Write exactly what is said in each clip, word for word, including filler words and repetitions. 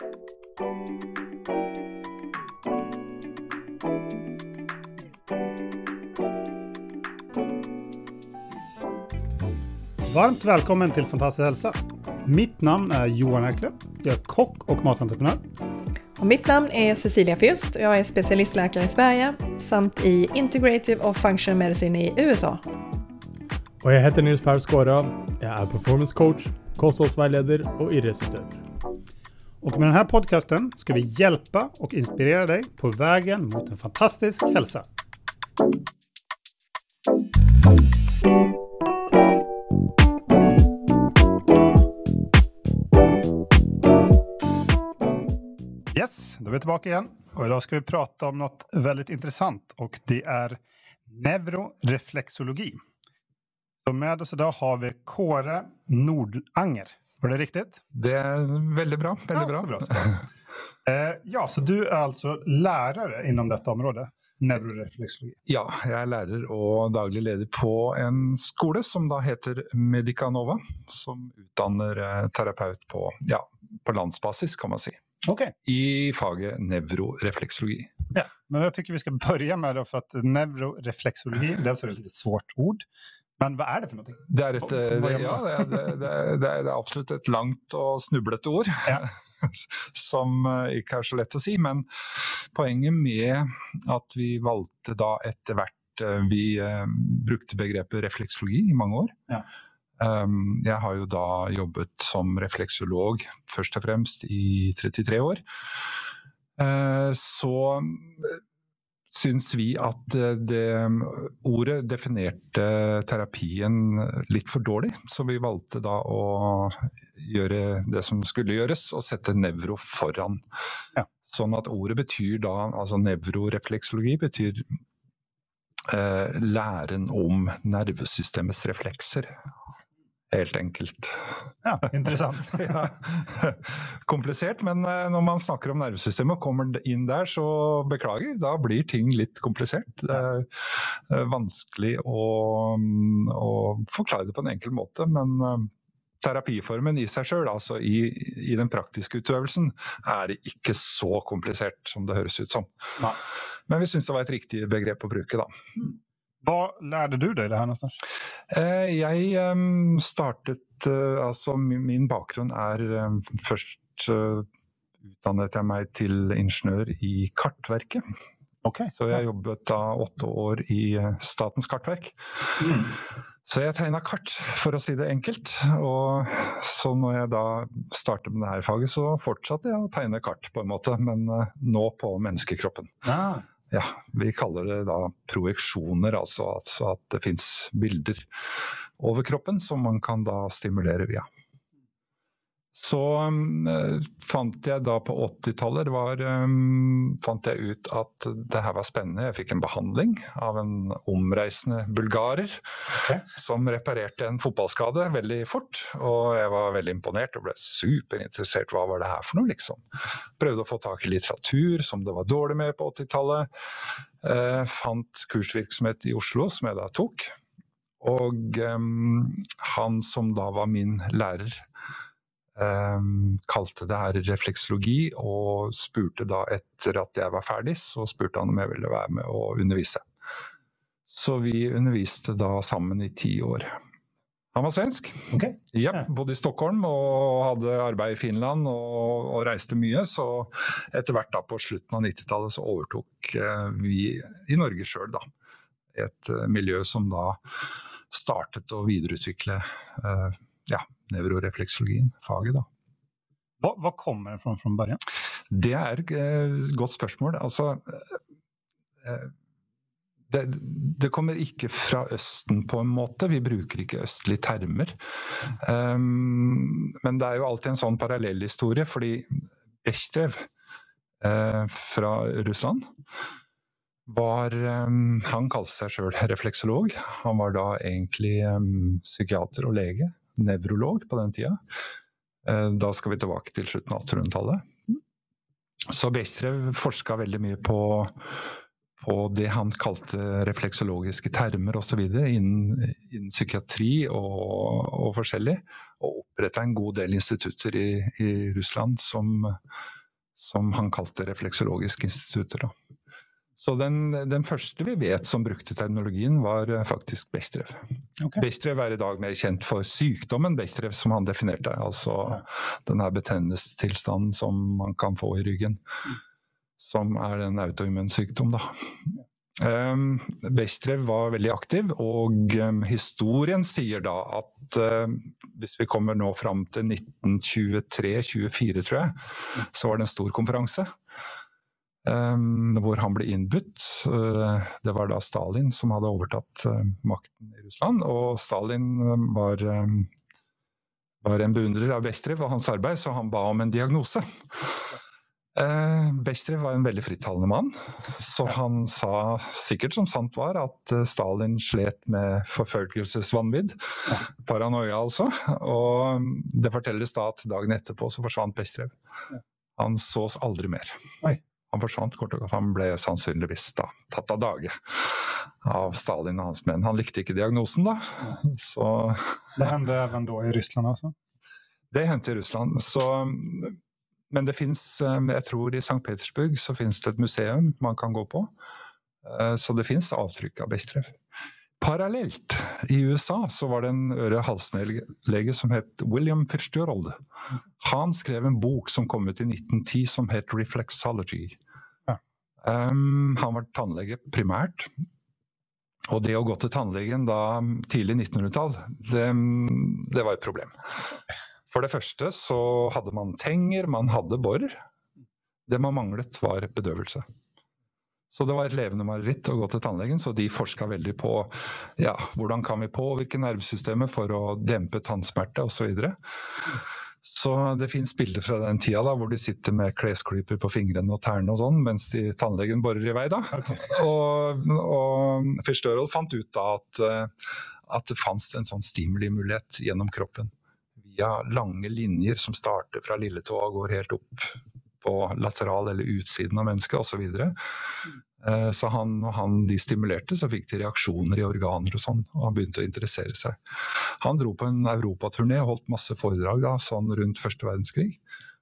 Varmt välkommen till Fantastisk hälsa. Mitt namn är Johan Erkle. Jag är kock och matentreprenör. Och mitt namn är Cecilia Fürst och jag är specialistläkare i Sverige samt i Integrative och Functional Medicine i U S A. Och jag heter Nils Per Skåra. Jag är performance coach, kosthållsvägledare och idrottsutövare. Och med den här podcasten ska vi hjälpa och inspirera dig på vägen mot en fantastisk hälsa. Yes, då är vi tillbaka igen. Och idag ska vi prata om något väldigt intressant. Och det är neuroreflexologi. Så med oss idag har vi Kåre Nordanger. Var det riktigt? Det är väldigt bra. Väldigt ja, bra. Så bra så. eh, ja, så du är alltså lärare inom detta område? Neuroreflexologi. Ja, jag är lärare och daglig leder på en skola som då heter Medicanova. Som utdannar terapeut på, ja, på landsbasis kan man säga. Okay. I faget neuroreflexologi. Ja, men jag tycker vi ska börja med det för att neuroreflexologi, det är alltså ett lite svårt ord. Men vad är det för någonting? Det är, ett, det, ja, det, är, det, det, det är absolut ett långt och snubblet ord. Ja. Som inte är så lätt att säga, men poängen med att vi valde då efterhvert, vi eh, brukte begreppet reflexologi i många år. Ja. Um, jag har ju då jobbat som reflexolog först och främst i trettiotre år. Uh, så syns vi att det ordet definerte terapien lite för dåligt, så vi valde då att göra det som skulle göras och sätta neuro foran. Ja. Så att ordet betyder då, alltså neuroreflexologi betyder eh, lären om nervsystemets reflexer. Helt enkelt. Ja, intressant. Ja. Komplicert, men när man snackar om nervsystemet och kommer in där så beklager, då blir ting lite komplicerat. Det är vanskligt att, att förklara det på en enkel måte, men terapiformen i sig själv, alltså i, i den praktiska utövelsen, är det inte så komplicerat som det hörs ut som. Ja. Men vi syns det var ett riktigt begrepp att bruka då. Mm. Vad lärde du dig det här någonstans? Eh, jag um, startet, uh, alltså min, min bakgrund är um, först uh, utdannade jag mig till ingenjör i Kartverket. Okay. Så jag jobbat då åtta år i uh, Statens kartverk. Mm. Så jag tegnade kart, för att säga det enkelt. Och så när jag då startade med det här faget så fortsatte jag att tegna kart på en måte, men uh, nå på människokroppen. Ah. Ja, vi kallar det då projektioner, alltså, alltså att det finns bilder över kroppen som man kan då stimulera via. Så um, fant jag då på åttiotalet, det var, um, fant jag ut att det här var spännande. Jag fick en behandling av en omreisende bulgarer okay. som reparerade en fotbollsskada väldigt fort. Och jag var väldigt imponerad och blev superintresserad. Vad var det här för något liksom? Prövde att få tag i litteratur som det var dåligt med på åttiotalet. Uh, fant kursvirksomhet i Oslo som jag då tog. Och um, han som då var min lärare Um, kalte det här reflexologi och spurte då efter att jag var färdig, så spurte han om jag ville vara med och undervisa. Så vi underviste då samman i tio år. Han var svensk. Okay. Ja, bodde i Stockholm och hade arbete i Finland och, och reste mycket, så efterhvert då på slutet av nittiotalet så övertog uh, vi i Norge själv då ett uh, miljö som då startet att vidareutveckla uh, ja, neuroreflexologin, faget då. Vad, vad kommer det från från början? Det är ett eh, gott spörsmål. Alltså, eh, det, det kommer inte från östen på en måte. Vi brukar inte östliga termer. Um, men det är ju alltid en sån parallellhistoria, för Bechterev eh, från Ryssland var, um, han kallade sig själv reflexolog. Han var då egentligen um, psykiater och läge. Neurolog på den tiden. Da skal vi tilbake til slutten av attenhundretallet. Så Bechterew forsket veldig mye på, på det han kalte refleksologiske termer og så videre innen, innen psykiatri og, og forskjellig, og opprettet en god del institutter i, i Russland som, som han kalte refleksologiske institutter. Da. Så den, den første vi vet som brukte terminologien var faktisk Bestev. Okay. Bestev er i dag mer kjent for sykdommen Bestev som han definerte, altså ja. Den her betennelsestilstanden som man kan få i ryggen. Mm. Som er en autoimmun sykdom da. Um, Bestev var veldig aktiv, og um, historien sier da at uh, hvis vi kommer nå frem til nitten tjuetre tjuefire, tror jeg, så var det en stor konferanse um, hvor han ble innbudt. Uh, det var da Stalin som hadde overtatt uh, makten i Russland, og Stalin um, var, um, var en beundrer av Bestev og hans arbeid, så han ba om en diagnose. Uh, Bestev var en veldig frittalende mann, så han sa sikkert som sant var at uh, Stalin slet med forfølgelsesvanvidd, ja. Paranoia altså, og det fortelles da at dagen etterpå så forsvant Bestev. Ja. Han sås aldri mer. Oi. Han forsvant kort og godt, han ble sannsynligvis da tatt av dage av Stalin og hans menn. Han likte ikke diagnosen da, ja. Så... Det hendte even da i Ryssland altså? Det hendte i Russland, så... Men det finns, jeg tror i Sankt Petersburg så finns det et museum man kan gå på. Så det finns avtrykk av Bestev. Parallelt i U S A så var det en øre-halsnelege som het William Fitzgerald. Han skrev en bok som kom ut i nitten ti som het Reflexology. Ja. Um, han var tannlege primært. Og det å gå til tannlegen da tidlig nittenhundretall, det, det var et problem. For det første så hadde man tenger, man hadde borr. Det man manglet var bedøvelse. Så det var et levende mareritt å gå til tannlegen, så de forsket veldig på ja, hvordan kan vi påvirke nervesystemet for å dempe tannsmerte og så videre. Så det finnes bilder fra den tida da, hvor de sitter med klesklyper på fingrene og tærne og sånn, mens de tannlegen borer i vei da. Okay. Og, og Fitzgerald fant ut da at, at det fanns en sånn stimulimulighet gjennom kroppen. Via lange linjer som starter fra lilletå og går helt opp på lateral eller utsiden av mennesket og så videre. Så han, når han de stimulerte, så fikk de reaksjoner i organer og sånn, og han begynte å interessere seg. Han dro på en Europaturné og holdt masse foredrag da, sånn rundt første verdenskrig.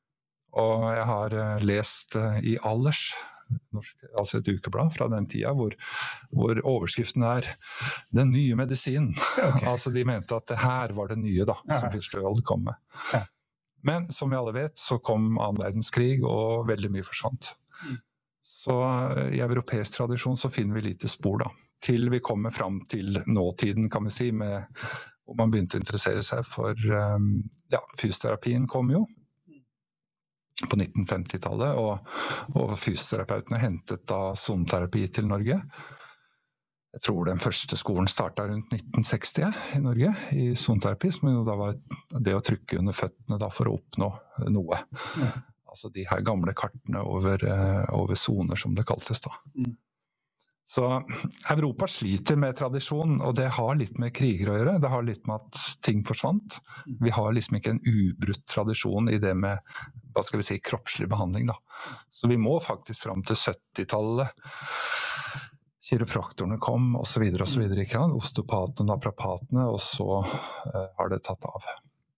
Og jeg har lest i Allers, norsk, altså et ukeblad fra den tida, hvor, hvor overskriften er «Den nye medisinen». Okay. Altså de mente at det her var det nye da, som Fitzgerald kom med. Ja. Men som vi alle vet, så kom annen verdenskrig, og veldig mye forsvant. Mm. Så i europeisk tradisjon så finner vi lite spor da, til vi kommer frem til nåtiden, kan vi si, med, hvor man begynte å interessere seg for, um, ja, fysioterapien kom jo, på nitten femti-tallet, og, og fysioterapeutene hentet da soneterapi til Norge. Jeg tror den første skolen startet rundt nitten seksti i Norge, i soneterapi, som jo da var det å trykke under føttene da for å oppnå noe. Ja. Altså de her gamle kartene over, over soner, som det kaltes da. Mm. Så Europa sliter med tradisjon, og det har litt med kriger å gjøre. Det har litt med at ting forsvant. Vi har liksom ikke en ubrutt tradisjon i det med, hva skal vi si, kroppslig behandling da. Så vi må faktisk frem til syttitallet. Kiropraktorene kom, og så videre, og så videre. Ikke? Osteopatene, naprapatene, og så uh, har det tatt av.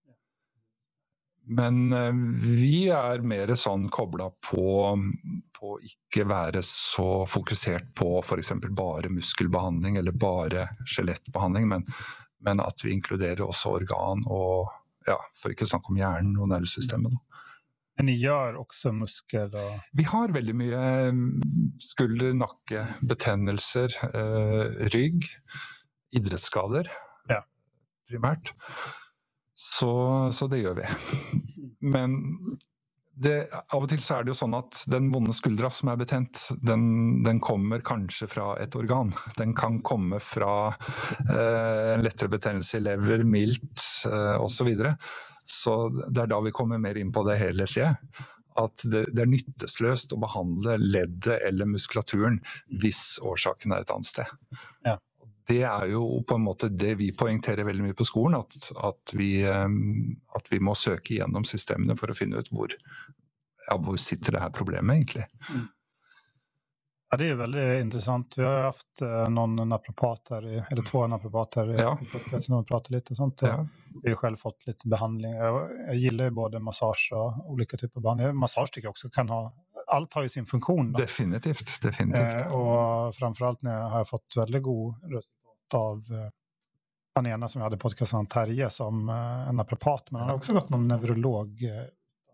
Men uh, vi er mer sånn koblet på, på ikke være så fokusert på for eksempel bare muskelbehandling eller bare skjelettbehandling, men, men at vi inkluderer også organ og, ja, for ikke snakke om hjernen og nervesystemet da. Men ni gjør også muskel og... Vi har veldig mye skulder, nakke, betennelser, uh, rygg, idrettsskader, ja. Primært. Så, så det gjør vi. Men det, av og til så er det jo sånn at den vonde skuldra som er betent, den, den kommer kanskje fra et organ. Den kan komme fra eh, en lettere betennelse i lever, mildt eh, og så videre. Så det er da vi kommer mer inn på det helhetlige. At det, det er nyttesløst å behandle leddet eller muskulaturen hvis årsaken er et annet sted. Ja. Det er jo på en måte det vi poengterer veldig mye på skolen, at, at, vi, at vi må søke gjennom systemene for å finne ut hvor, ja, hvor sitter det her problemet egentlig. Mm. Ja, det är väldigt intressant. Vi har haft eh, någon naprapat här, i, eller två naprapater Ja. i podcasten och pratat lite och sånt. Och Ja. vi har själv fått lite behandling. Jag, jag gillar ju både massage och olika typer av behandling. Massage tycker jag också kan ha, allt har ju sin funktion. Då. Definitivt, definitivt. Eh, och framförallt när jag har fått väldigt god resultat av eh, den ena som jag hade podcasten, Terje, som eh, en naprapat. Men han har också gått någon neurolog. Eh,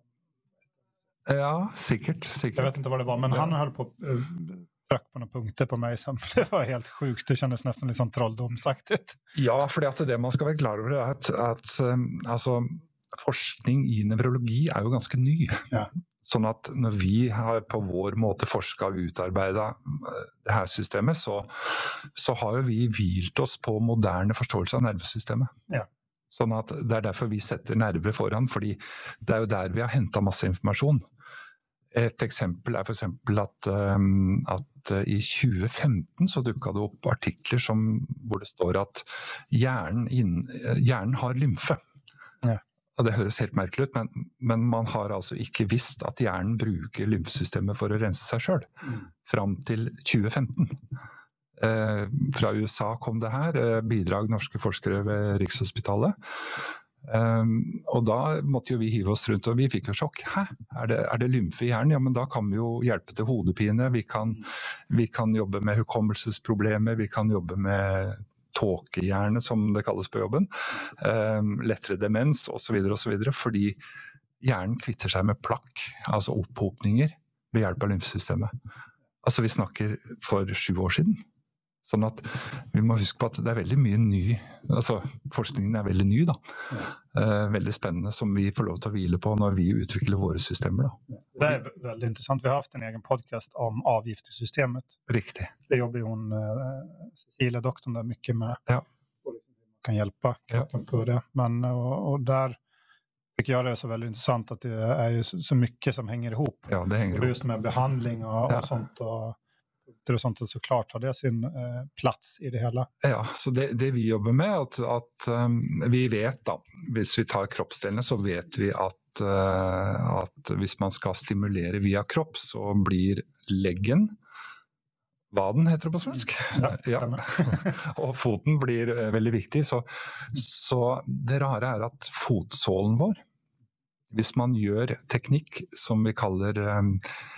Ja, säkert, säkert. Jag vet inte vad det var, men Ja. han höll på uh, tryck på några punkter på mig som det var helt sjukt. Det kändes nästan lite som trolldomsaktigt. Ja, fordi at det man skal være klar over er at, at um, altså, forskning i nevrologi er jo ganske ny. Ja. Sånn at når vi har på vår måte forsket og utarbeidet det her systemet, så, så har jo vi hvilt oss på moderne forståelse av nervesystemet. Ja. Sånn at det er derfor vi setter nerver foran, fordi det er jo der vi har hentet masse informasjon. Et eksempel er for eksempel at, um, at uh, i tjue femten så dukket det opp artikler som, hvor det står at hjernen, inn, hjernen har lymfe. Ja. Og det høres helt merkelig ut, men, men man har altså ikke visst at hjernen bruker lymfesystemet for å rense seg selv, mm. fram til tjue femten. Eh, fra U S A kom det her, eh, bidrag norske forskere ved Rikshospitalet. Um, og da måtte jo vi hive oss rundt, og vi fikk jo sjokk. Hæ? Er det, er det lymfe i hjernen? Ja, men da kan vi jo hjelpe til hodepine, vi kan, vi kan jobbe med hukommelsesproblemer, vi kan jobbe med tåkehjerne, som det kalles på jobben, um, lettere demens, og så videre, og så videre, fordi hjernen kvitter seg med plakk, altså opphopninger, ved hjelp av lymfesystemet. Altså, vi snakker for sju år siden. Sånn at vi må huske på at det er veldig mye ny, altså forskningen er veldig ny da, ja. eh, veldig spennende som vi får lov til å hvile på når vi utvikler våre systemer da. Det är väldigt intressant. Vi har haft en egen podcast om avgiftssystemet. Riktigt. Det jobbar ju hon, eh, Cecilia, doktorn, där mycket med. Ja. Man kan hjälpa kroppen ja. på det. Men, och, och där tycker jag det är så väldigt intressant att det är ju så, så mycket som hänger ihop. Ja, det hänger ihop. Just med behandling och, ja. och sånt och och sånt, och såklart har det sin eh, plats i det hela. Ja, så det, det vi jobber med er at, at um, vi vet da, hvis vi tar kroppsdelene, så vet vi at, uh, at hvis man skal stimulere via kropp, så blir leggen, vaden heter det på svensk, ja, ja. og foten blir uh, veldig viktig, så, så det rare er at fotsålen vår, hvis man gjør teknikk som vi kaller um,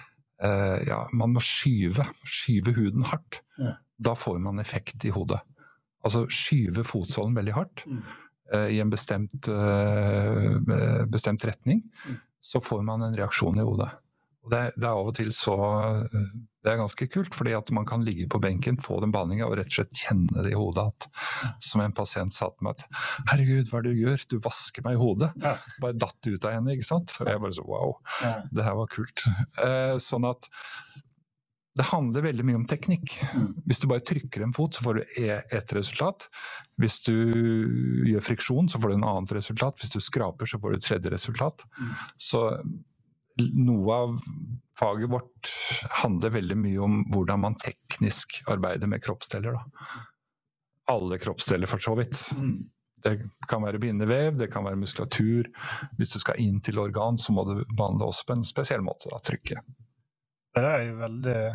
Uh, ja, man må skyve, skyve huden hardt. Ja. Da får man effekt i hodet. Altså skyve fotsålen veldig hardt mm. uh, i en bestemt, uh, bestemt retning, mm. så får man en reaksjon i hodet. Og det, det er av og til så, uh, det er ganske kult, fordi at man kan ligge på benken, få den behandlingen og rett og slett kjenne det i hodet. At, som en pasient sa til meg at, herregud, hva er det du gjør? Du vasker meg i hodet. Ja. Bare datt ut av henne, ikke sant? Og jeg bare så, wow, ja. Det her var kult. Uh, sånn at det handler veldig mye om teknikk. Mm. Hvis du bare trykker en fot, så får du et resultat. Hvis du gjør friksjon, så får du en annet resultat. Hvis du skraper, så får du et tredje resultat. Mm. Så noe av faget vårt handler veldig mye om hvordan man teknisk arbeider med kroppsdeler. Da. Alle kroppsdeler for så vidt. Mm. Det kan være bindevev, det kan være muskulatur. Hvis du skal inn til organ, så må du behandle også på en spesiell måte, da, trykke. Det där är ju väldigt...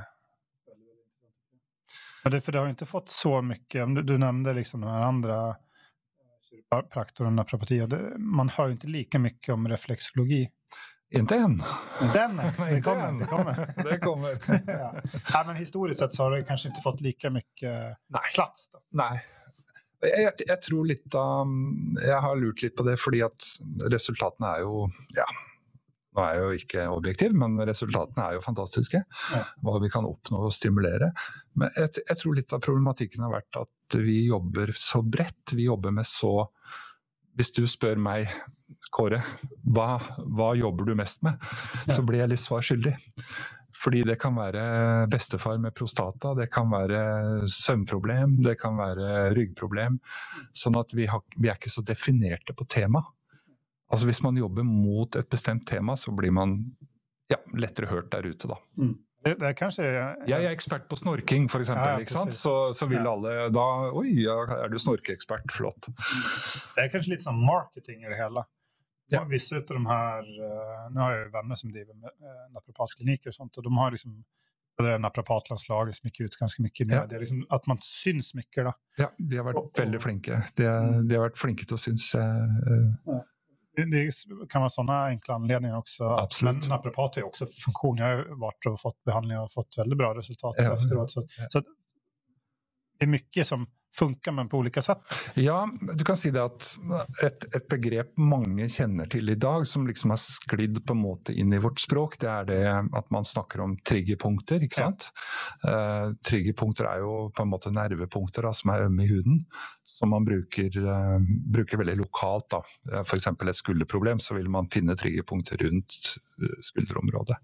Men det, för det har ju inte fått så mycket, du, du nämnde liksom de här andra kiropraktor och naprapati, man hör ju inte lika mycket om reflexologi. Inte än. Den, det kommer. Än. Det kommer. Det kommer. ja. Ja, men historiskt sett så har det kanske inte fått lika mycket Nej. plats. Då. Nej. Jeg, jeg tror litt av, jeg har lurt litt på det, fordi at resultatene er jo, ja, nå er jeg jo ikke objektiv, men resultatene er jo fantastiske, ja. Hva vi kan oppnå og stimulere. Men jeg, jeg tror litt av problematikken har vært at vi jobber så bredt, vi jobber med så, hvis du spør meg, Kåre, hva, hva jobber du mest med? Så blir jeg litt svar skyldig. Fordi det kan være bestefar med prostata, det kan være søvnproblem, det kan være ryggproblem, sånn at vi, har, vi er ikke så definerte på tema. Altså hvis man jobber mot et bestemt tema, så blir man ja, lettere hørt der ute da. Mm. Det, det er kanskje... Ja. Jeg er ekspert på snorking for eksempel, ja, ja, ikke sant? Så, så vil ja. alle da, oi, ja, er du snorkeekspert, flott. Det er kanskje litt sånn marketing i det hele. Ja. Vissa av de här, nu har jag ju vänner som driver med naprapatkliniker och sånt, och de har liksom det är naprapatlandslaget som gick ut ganska mycket med Ja. det. Liksom att man syns mycket då. Ja, de har vært veldig flinke. De, de har vært flinke til å synes. Uh, Ja. Det, det kan vara sådana enkla anledningar också. Absolut. Men naprapat är ju också funktion. Jag har varit och fått behandling och fått väldigt bra resultat Ja. efteråt. Så, Ja. så att det är mycket som funkar men på olika sätt. Ja, du kan si det at et, et begrep mange kjenner til i dag, som liksom har sklidd på en måte inn i vårt språk, det er det at man snakker om triggerpunkter, ikke sant? Ja. Uh, triggerpunkter er jo på en måte nervepunkter da, som er ømme i huden, som man bruker, uh, bruker veldig lokalt da. For eksempel et skulderproblem, så vil man finne triggerpunkter rundt skulderområdet.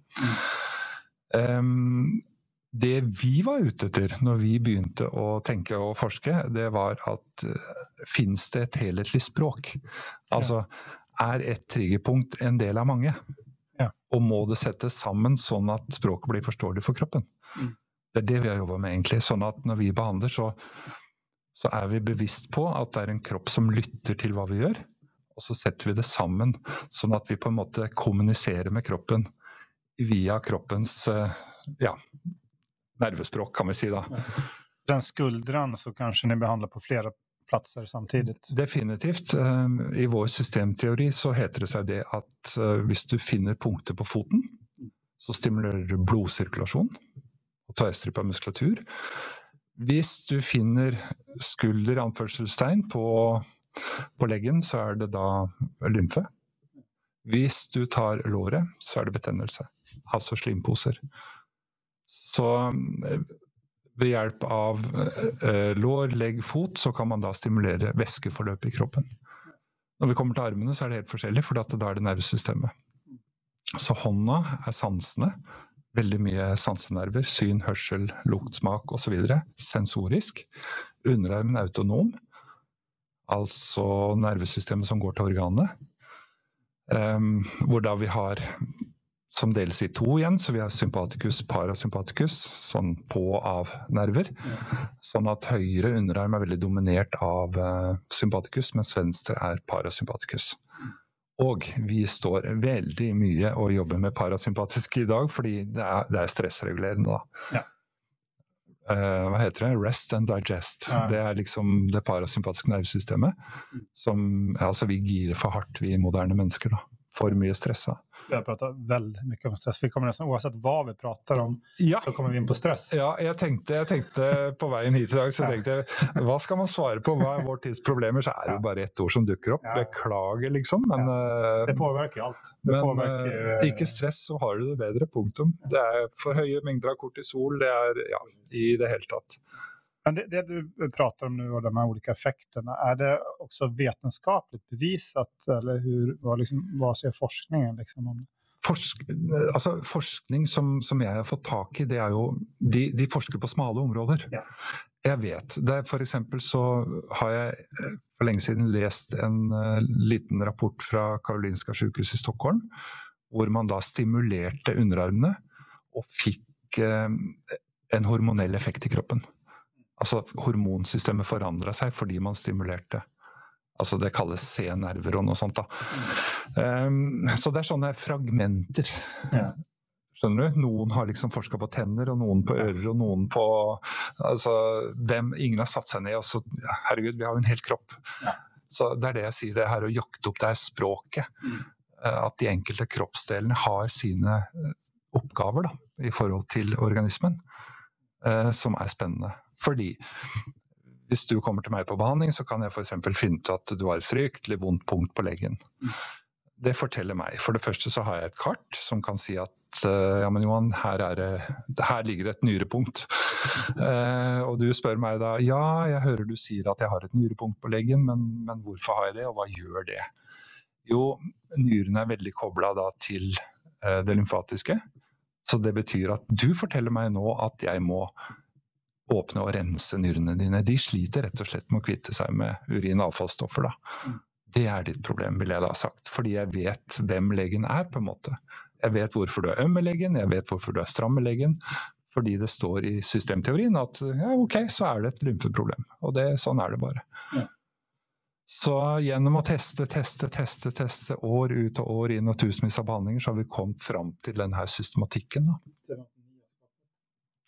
Mm. Um, Det vi var ute etter når vi begynte å tenke og forske, det var at uh, finnes det et helhetlig språk? Altså, er et triggerpunkt en del av mange? Ja. Og må det settes sammen sånn at språket blir forståelig for kroppen? Mm. Det er det vi har jobbet med egentlig, sånn at når vi behandler så, så er vi bevisst på at det er en kropp som lytter til hva vi gjør, og så setter vi det sammen sånn at vi på en måte kommuniserer med kroppen via kroppens uh, ja, nervespråk kan vi si da. Den skuldran så kanske ni behandlar på flera platser samtidigt. Definitivt. I vår systemteori så heter det seg det at hvis du finner punkter på foten, så stimulerer du blodsirkulasjon og tverrstrippa muskulatur. Hvis du finner skulder, anførselstegn, på, på leggen, så er det da lymfe. Hvis du tar låret, så er det betennelse, altså slimposer. Så ved hjelp av eh, lår, legg, fot, så kan man da stimulere væskeforløp i kroppen. Når vi kommer til armene, så er det helt forskjellig, for da er det nervesystemet. Så hånda er sansene, veldig mye sansenerver, syn, hørsel, lukt, smak og så videre, sensorisk. Underarmen er autonom, altså nervesystemet som går til organet, um, hvor da vi har som deles i to igjen, så vi har sympaticus, parasympaticus, sånn på og av nerver. Ja. Sånn at høyre underarm er veldig dominert av uh, sympaticus, mens venstre er parasympaticus. Og vi står veldig mye og jobber med parasympatisk i dag, fordi det er, det er stressregulerende da. Ja. Uh, hva heter det? Rest and digest. Ja. Det er liksom det parasympatiske nervesystemet, som, altså vi girer for hardt, vi moderne mennesker da. For mye stressa. Vi har pratat väldigt mycket om stress. Vi kommer nästan oavsett vad vi pratar om, ja. så kommer vi in på stress. Ja, jeg tenkte, jeg tenkte på veien hit i dag, så tenkte jeg, hva skal man svare på? Hva er vår tids problemer? Så er det jo bare ett ord som dukker opp. Ja. Beklager liksom, men... Ja. Det påverkar allt. Det men påverkar, ikke stress, så har du det bedre, punktum. Det er for høye mengder av kortisol, det er, ja, i det hele tatt. Men det, det du pratar om nu och de här olika effekterna, är det också vetenskapligt bevisat eller hur, vad, liksom, vad ser forskningen liksom om det? Forsk, altså, forskning som, som jeg har fått tak i, det er jo, de, de forsker på smale områder. Ja. Jeg vet, det er, for eksempel så har jeg for lenge siden lest en uh, liten rapport fra Karolinska sykehus i Stockholm, hvor man da stimulerte underarmene og fikk uh, en hormonell effekt i kroppen. Altså hormonsystemet forandret seg fordi man stimulerte. Altså det kalles C-nerver og noe sånt da. Um, så det er sånne fragmenter. Ja. Skjønner du? Noen har liksom forsket på tenner, og noen på ører, og noen på... Altså, dem, ingen har satt seg ned, og så, herregud, vi har jo en hel kropp. Ja. Så det er det jeg sier, det her å jakte opp det her språket. Mm. At de enkelte kroppsdelene har sine oppgaver da, i forhold til organismen, uh, som er spennende. Fordi hvis du kommer til meg på behandling, så kan jeg for eksempel finne ut at du har et fryktelig vondt punkt på leggen. Det forteller meg. For det første så har jeg et kart som kan si at ja, men Johan, her, er det, her ligger et nyrepunkt. Uh, og du spør meg da, ja, jeg hører du sier at jeg har et nyrepunkt på leggen, men, men hvorfor har jeg det, og hva gjør det? Jo, nyrene er veldig koblet da til uh, det lymfatiske, så det betyr at du forteller meg nå at jeg må åpne og rense nyrene dine. De sliter rett og slett med å kvitte seg med urin- og avfallsstoffer da. Det er ditt problem, vil jeg da ha sagt, fordi jeg vet hvem leggen er på en måte. Jeg vet hvorfor du er øm med leggen, jeg vet hvorfor du er stram med leggen, fordi det står i systemteorien at ja, ok, så er det et lymfeproblem, og det, sånn er det bare. Ja. Så gjennom å teste, teste, teste, teste, år ut og år inn og tusenvis av behandlinger, så har vi kommet frem til denne systematikken da.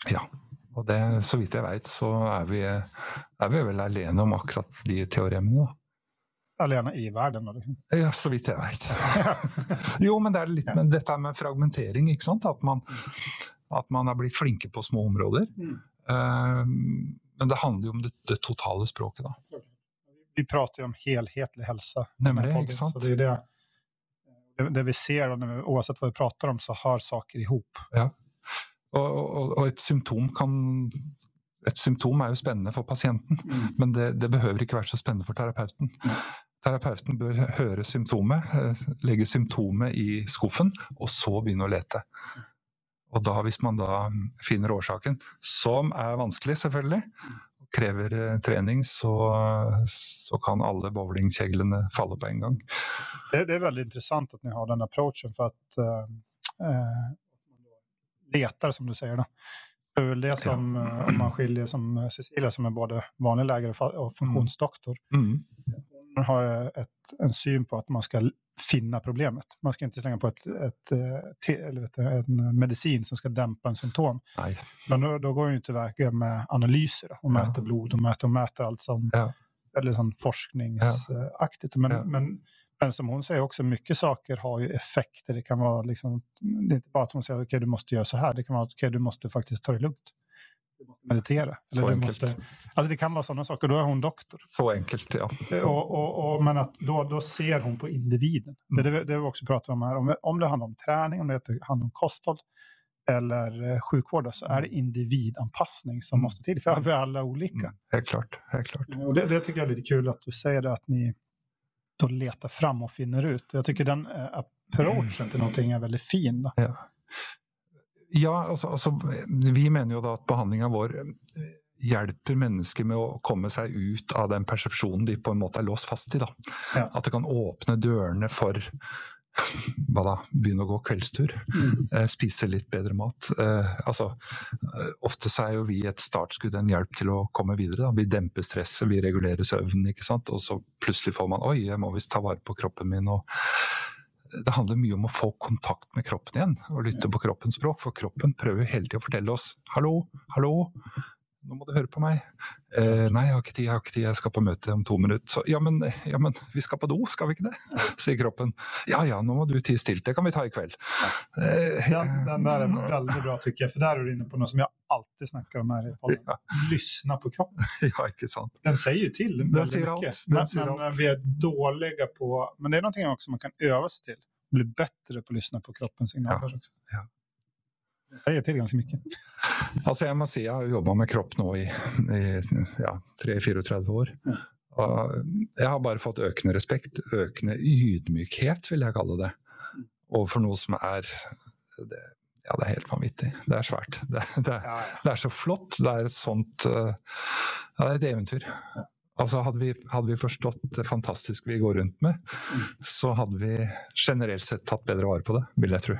Ja, og det, så vidt jeg vet, så er vi, er vi vel alene om akkurat de teoremene da. Alene i verden da, liksom. Ja, så vidt jeg vet. Jo, men det er litt med dette med fragmentering, ikke sant? At man, at man er blitt flinke på små områder. Mm. Uh, men det handler jo om det, det totale språket da. Vi prater jo om helhetlig helse. Nemlig, ikke sant? Så det er det, det, det vi ser, og vi, oavsett hva vi prater om, så har saker ihop. Ja, og, og, og et symptom kan... Et symptom er jo spennende for pasienten, mm. men det, det behøver ikke være så spennende for terapeuten. Mm. Terapeuten bør høre symptomet, legge symptomet i skuffen, og så begynne å lete. Og da, hvis man da finner årsaken, som er vanskelig selvfølgelig, krever trening, så, så kan alle bowlingkjeglene falle på en gang. Det, det er veldig interessant at ni har den approachen, for at uh, uh, letar, som du säger då. Det är väl det som, ja. Om man skiljer som Cecilia som är både vanlig läkare och funktionsdoktor. Mm. Hon har ett, en syn på att man ska finna problemet. Man ska inte slänga på ett, ett, ett, eller vet du, en medicin som ska dämpa en symptom. Nej. Men då, då går ju inte verkligen med analyser då, och ja. mäter blod och mäter, och mäter allt som ja. eller sån forskningsaktigt. Men, ja. men Men som hon säger också, mycket saker har ju effekter. Det kan vara liksom, det är inte bara att hon säger okej, okay, du måste göra så här. Det kan vara okej, okay, du måste faktiskt ta det lugnt. Du måste meditera. Så eller du enkelt. Måste, alltså det kan vara sådana saker, då är hon doktor. Så enkelt, ja. Och, och, och, men att då, då ser hon på individen. Mm. Det, det, det vi också pratar om här. Om, om det handlar om träning, om det handlar om kosthåll eller sjukvård, så är det individanpassning som mm. måste till. För vi är alla olika. Mm. Helt klart, helt klart. Och det, det tycker jag är lite kul att du säger det, att ni då letar fram och finner ut. Jag tycker den uh, approachen till någonting är väldigt fin. Då. Ja, ja alltså, alltså, vi mener jo da at behandlingen vår hjelper mennesker med å komme seg ut av den persepsjonen de på en måte er låst fast i. Da. Ja. At det kan åpne dørene for hva da, begynne å gå kveldstur, mm. eh, spise litt bedre mat. Eh, altså, ofte så er jo vi et startskudd, en hjelp til å komme videre. Da. Vi demper stresset, vi regulerer søvnen, ikke sant? Og så plutselig får man, oi, jeg må visst ta vare på kroppen min. Og det handler mye om å få kontakt med kroppen igjen, og lytte på kroppens språk, for kroppen prøver hele tiden å fortelle oss, hallo, hallo, nå må du høre på meg. Eh, nei, jeg har ikke tid, jeg har ikke tid, jeg skal på møte om to minutter. Så, ja, men, ja, men vi skal på do, skal vi ikke det? Sier kroppen. Ja, ja, nå må du tid stilt, det kan vi ta i kveld. Eh, den, den där är väldigt bra tycker jag, för där är du inne på något som jag alltid snackar om här i podden. Ja. Lyssna på kroppen. Ja, inte sant. Den säger ju till den väldigt säger mycket. Allt. Den men säger men allt. Vi är dåliga på, men det är någonting också man kan öva sig till. Bli bättre på att lyssna på kroppens signaler ja. också. Ja. Det säger till ganska mycket. Altså jeg må si, jeg har jobbet med kropp nå i, i ja, tre til trettini år. Mm. Og jeg har bare fått økende respekt, økende ydmykhet, vil jeg kalle det. Overfor noe som er, det, ja, det er helt vanvittig. Det er svært. Det, det, er, det er så flott. Det er et sånt, ja, det er et eventyr. Altså hadde vi, hadde vi forstått det fantastiske vi går rundt med, mm. så hadde vi generelt sett tatt bedre vare på det, vil jeg tro.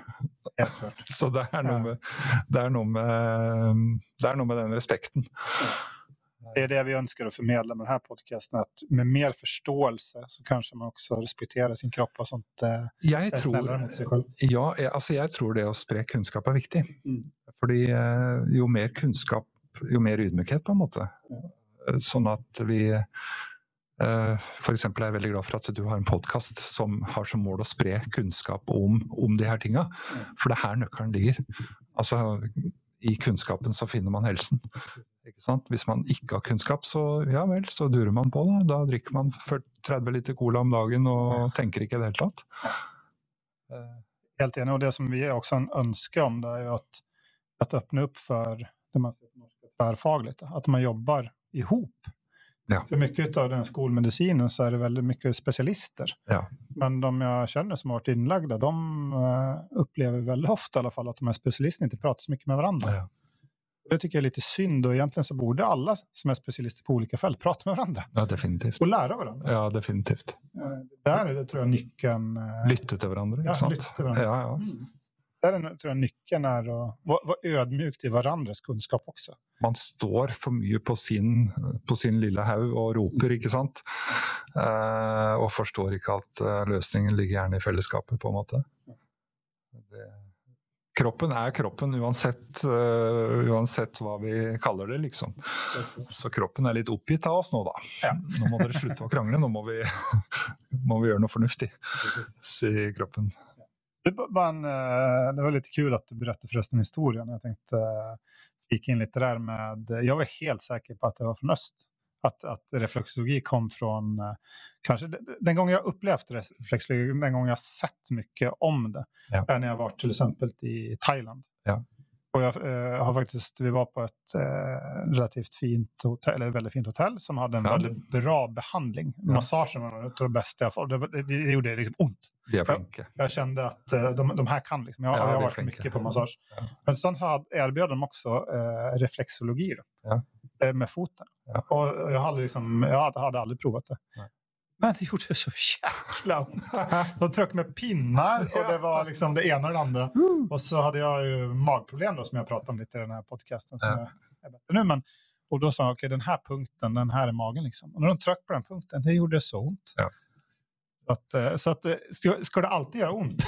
Så det er noe med, det er noe med, det er noe med den respekten. Det är det vi önskar att förmedla med den här podcasten, att med mer förståelse så kanske man också respekterar sin kropp och sånt. Eh, jeg tror, mot sig själv. Ja, jeg, altså jeg tror det å spre kunnskap er viktig. Mm. Fordi eh, jo mer kunnskap, jo mer ydmykhet på en måte. Ja. Sånn at vi uh, for eksempel er jeg veldig glad for at du har en podcast som har som mål å spre kunnskap om, om de her tingene, for det er her nøkkelen ligger. Altså i kunnskapen så finner man helsen, ikke sant? Hvis man ikke har kunnskap, så ja vel, så durer man på det, da drikker man tretti liter cola om dagen og tenker ikke det hele tatt. uh. Helt enig, og det som vi också önskar om det er jo at, at öppna upp för det man säger tvärfagligt, att man jobbar ihop. Ja. För mycket av den skolmedicinen så är det väldigt mycket specialister. Ja. Men de jag känner som har varit inlagda, de uh, upplever väldigt ofta i alla fall att de här specialisterna inte pratar så mycket med varandra. Ja. Det tycker jag är lite synd, och egentligen så borde alla som är specialister på olika fält prata med varandra. Ja, definitivt. Och lära varandra. Ja, definitivt. Uh, där är det tror jag nyckeln. Uh, lytte till varandra, ja, sant? Lytte till varandra. Ja, ja. Mm. Där är, tror jag nyckeln är att vara, vara ödmjuk till varandras kunskap också. Man står för mycket på sin, på sin lilla haug och roper, ikke sant? Uh, och förstår inte att uh, lösningen ligger gärna i fällskapet på en måte. Det, kroppen er kroppen uansett, uh, uansett hva vi kaller det, liksom. Så kroppen er litt oppgitt av oss nå, da. Ja. Nå må dere slutte å krangle, nå må vi, må vi gjøre noe fornuftig, sier kroppen. Det var lite kul att du berättade förresten historien. Jag tänkte gick in lite där med, jag var helt säker på att det var från öst. Att, att reflexologi kom från, kanske den gången jag upplevt reflexologi, den gången jag sett mycket om det, ja. När jag var till exempel i Thailand. Ja. Och jag eh, har faktiskt, vi var på ett eh, relativt fint hotell, eller väldigt fint hotell som hade en ja. väldigt bra behandling. Ja. Massagen var ett av det bästa jag fått. Det, det, det gjorde liksom ont. Jag, jag kände att eh, de, de här kan liksom, jag, ja, jag har varit flinke. mycket på massage. Ja. Men sen hade, erbjöd de också eh, reflexologi då, ja. eh, med foten. Ja. Och jag hade, liksom, jag hade, hade aldrig provat det. Ja. Men det gjorde så jäkla ont. De tryckte med pinnar och det var liksom det ena och det andra. Och så hade jag ju magproblem då som jag pratade om lite i den här podcasten som ja. jag är bättre nu. Men, och då sa jag, okej okay, den här punkten, den här är magen liksom. Och när de tryckte på den punkten, det gjorde så ont. Ja. Så att, så att ska, ska det alltid göra ont?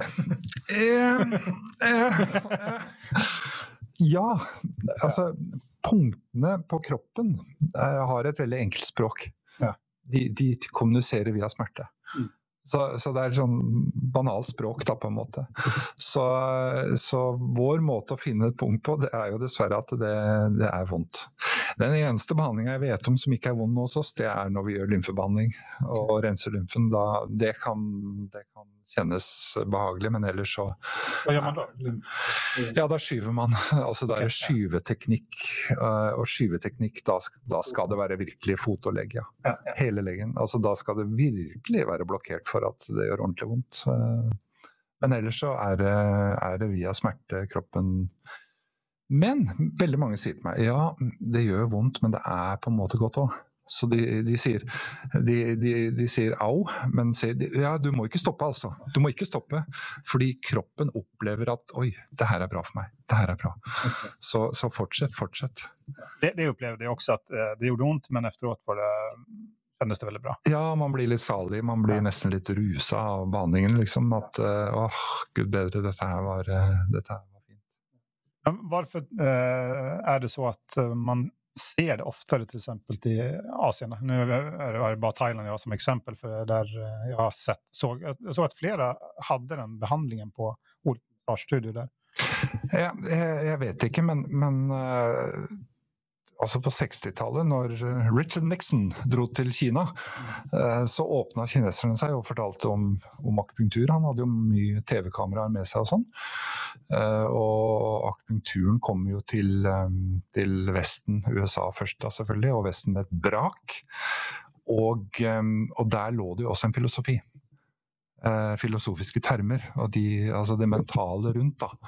Ja, altså punktene på kroppen har et veldig enkelt språk. Ja. De, de kommuniserer via smerte. Mm. Så, så det er sånn banalt språk da på en måte. Så, så vår måte å finne et punkt på, det er jo dessverre at det, det er vondt. Den eneste behandlingen jeg vet om som ikke er vond hos oss, det er når vi gjør lymfebehandling og renser lymfen. Da, det, kan, det kan kjennes behagelig, men ellers så... Hva gjør man da? Ja, da skyver man. Altså det er skyveteknikk, og skyveteknikk, da, da skal det være virkelig fot og legg, ja. Hele leggen. Altså da skal det virkelig være blokkert for at det gjør ordentlig vondt. Men ellers så er det, er det via smerte kroppen. Men veldig mange sier til meg, ja, det gjør vondt, men det er på en måte godt også. Så de, de, sier, de, de, de sier au, men sier, ja, du må ikke stoppe altså. Du må ikke stoppe, fordi kroppen opplever at, oi, det her er bra for meg. Det her er bra. Så, så fortsett, fortsett. Det, det upplevde jeg også at det gjorde ont, men efteråt var det... kändes det väldigt bra. Ja, man blir litt salig, man blir ja. nesten litt rusa av behandlingen, liksom, at, åh, gud bedre, dette her var, dette her var fint. Men varför eh, är det så att man ser det oftare till exempel i Asien? Nu är det bara Thailand jag har som exempel, för där jag har sett, såg, jag såg att flera hade den behandlingen på olika studier där. Ja, jeg, jeg vet ikke, men, men uh... altså på sekstitallet, når Richard Nixon dro til Kina, så åpnet kineserne seg og fortalte om, om akupunktur. Han hadde jo mye T V-kameraer med seg og sånn. Og akupunkturen kom jo til, til Vesten, U S A først da selvfølgelig, og Vesten med et brak. Og, og der lå det jo også en filosofi. Filosofiske termer, og de, altså det mentale rundt da,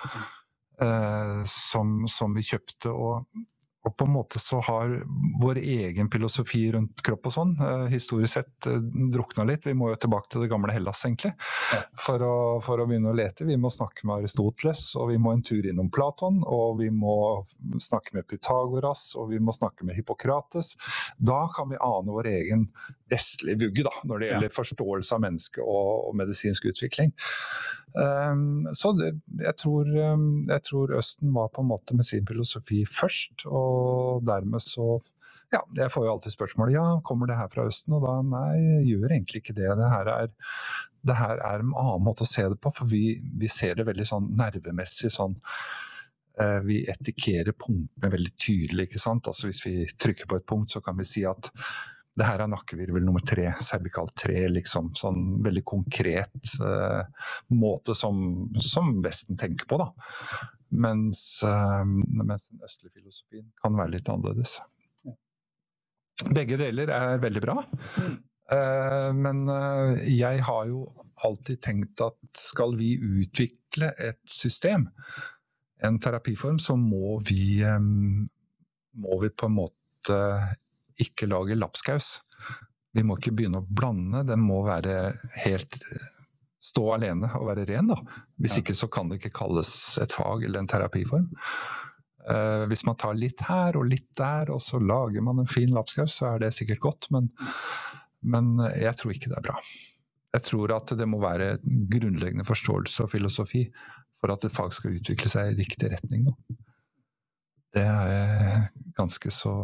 som, som vi kjøpte, og Og på en måte så har vår egen filosofi rundt kropp og sånn, eh, historisk sett eh, drukna litt. Vi må jo tilbake til det gamle Hellas egentlig, for å, for å begynne å lete. Vi må snakke med Aristoteles, og vi må en tur innom Platon, og vi må snakke med Pythagoras, og vi må snakke med Hippokrates. Da kan vi ane vår egen vestlige vugge da, når det gjelder forståelse av menneske og, og medisinsk utvikling. Um, så det, jeg, tror, um, jeg tror Østen var på en måte med sin filosofi først, og dermed så, ja, jeg får jo alltid spørsmålet, ja, kommer det her fra Østen? Og da, nei, jeg gjør egentlig ikke det. Det her er, det her er en annen måte å se det på, for vi, vi ser det veldig sånn nervemessig, sånn, uh, vi etikerer punktene veldig tydelig, ikke sant? Altså hvis vi trykker på et punkt, så kan vi si at det her er nakkevirvel nummer tre, cervikal tre, liksom, sånn veldig konkret eh, måte som, som Vesten tenker på da. Mens, eh, mens den østlige filosofien kan være litt annerledes. Begge deler er veldig bra, eh, men eh, jeg har jo alltid tenkt at skal vi utvikle et system, en terapiform, så må vi, eh, må vi på en måte ikke lage lapskaus. Vi må ikke begynne å blande, den må være helt stå alene og være ren da. Hvis ikke så kan det ikke kalles et fag eller en terapiform. Uh, hvis man tar litt her og litt der, og så lager man en fin lapskaus, så er det sikkert godt, men, men jeg tror ikke det er bra. Jeg tror at det må være grunnleggende forståelse og filosofi for at et fag skal utvikle seg i riktig retning. Da. Det er ganske så...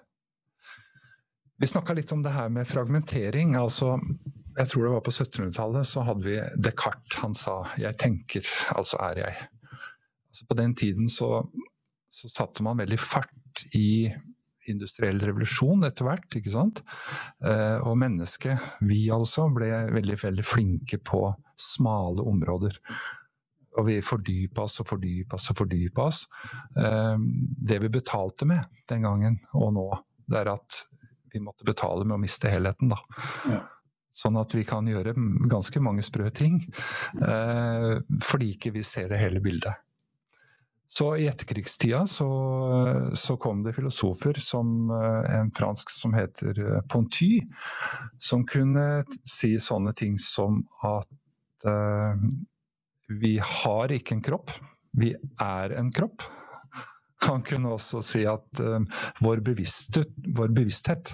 Vi snakket litt om det her med fragmentering, altså jeg tror det var på syttenhundretallet så hadde vi Descartes, han sa jeg tenker, altså er jeg. Altså på den tiden så, så satte man veldig fart i industriell revolusjon etter hvert, ikke sant? Eh, og mennesket, vi altså, ble veldig, veldig flinke på smale områder. Og vi fordypet oss og fordypet oss og fordypet oss. Eh, det vi betalte med den gangen og nå, det er at vi måtte betale med å miste helheten da. Ja. Sånn at vi kan gjøre ganske mange sprø ting, eh, fordi ikke vi ser det hele bildet. Så i etterkrigstida så, så kom det filosofer som en fransk som heter Ponty, som kunne si sånne ting som at eh, vi har ikke en kropp, vi er en kropp. Han kunne også si at uh, vår, bevissthet, vår bevissthet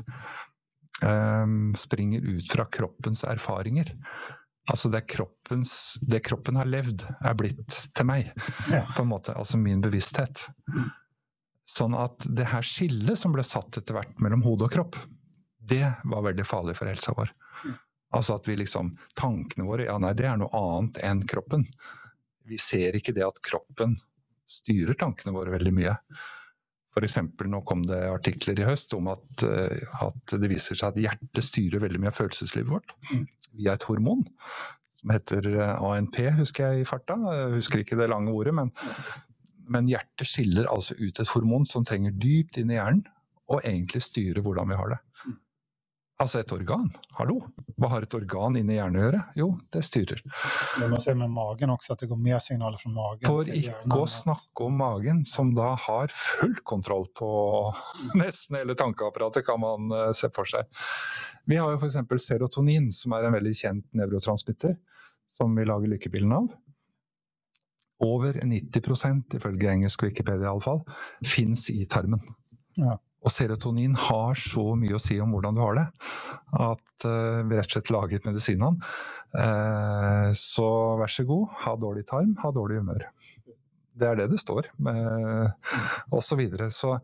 um, springer ut fra kroppens erfaringer. Altså det, kroppens, det kroppen har levd er blitt til meg, ja. På en måte, altså min bevissthet. Sånn at det her skillet som ble satt etter hvert mellom hode og kropp, det var veldig farlig for helsa vår. Altså at vi liksom, tankene våre, ja nei, det er noe annet enn kroppen. Vi ser ikke det at kroppen styrer tankene våre veldig mye. For eksempel, nå kom det artikler i høst om at, at det viser seg at hjertet styrer veldig mye av følelseslivet vårt via et hormon som heter A N P, husker jeg i farta. Jeg husker ikke det lange ordet, men, men hjertet skiller altså ut et hormon som trenger dypt inn i hjernen og egentlig styrer hvordan vi har det. Altså et organ. Hallo? Hva har et organ inne i hjernen å gjøre? Jo, det styrer. Men man ser med magen også at det går mer signaler fra magen. For ikke å snakke om magen, som da har full kontroll på nesten hele tankeapparatet, kan man uh, se for seg. Vi har jo for eksempel serotonin, som er en veldig kjent neurotransmitter, som vi lager lykkebilden av. Over nitti prosent, ifølge engelsk Wikipedia i alle fall, finnes i tarmen. Ja. Og serotonin har så mye å si om hvordan du har det, at uh, vi rett og slett laget medisinen. Uh, så vær så god, ha dårlig tarm, ha dårlig humør. Det er det det står, uh, og så videre. Så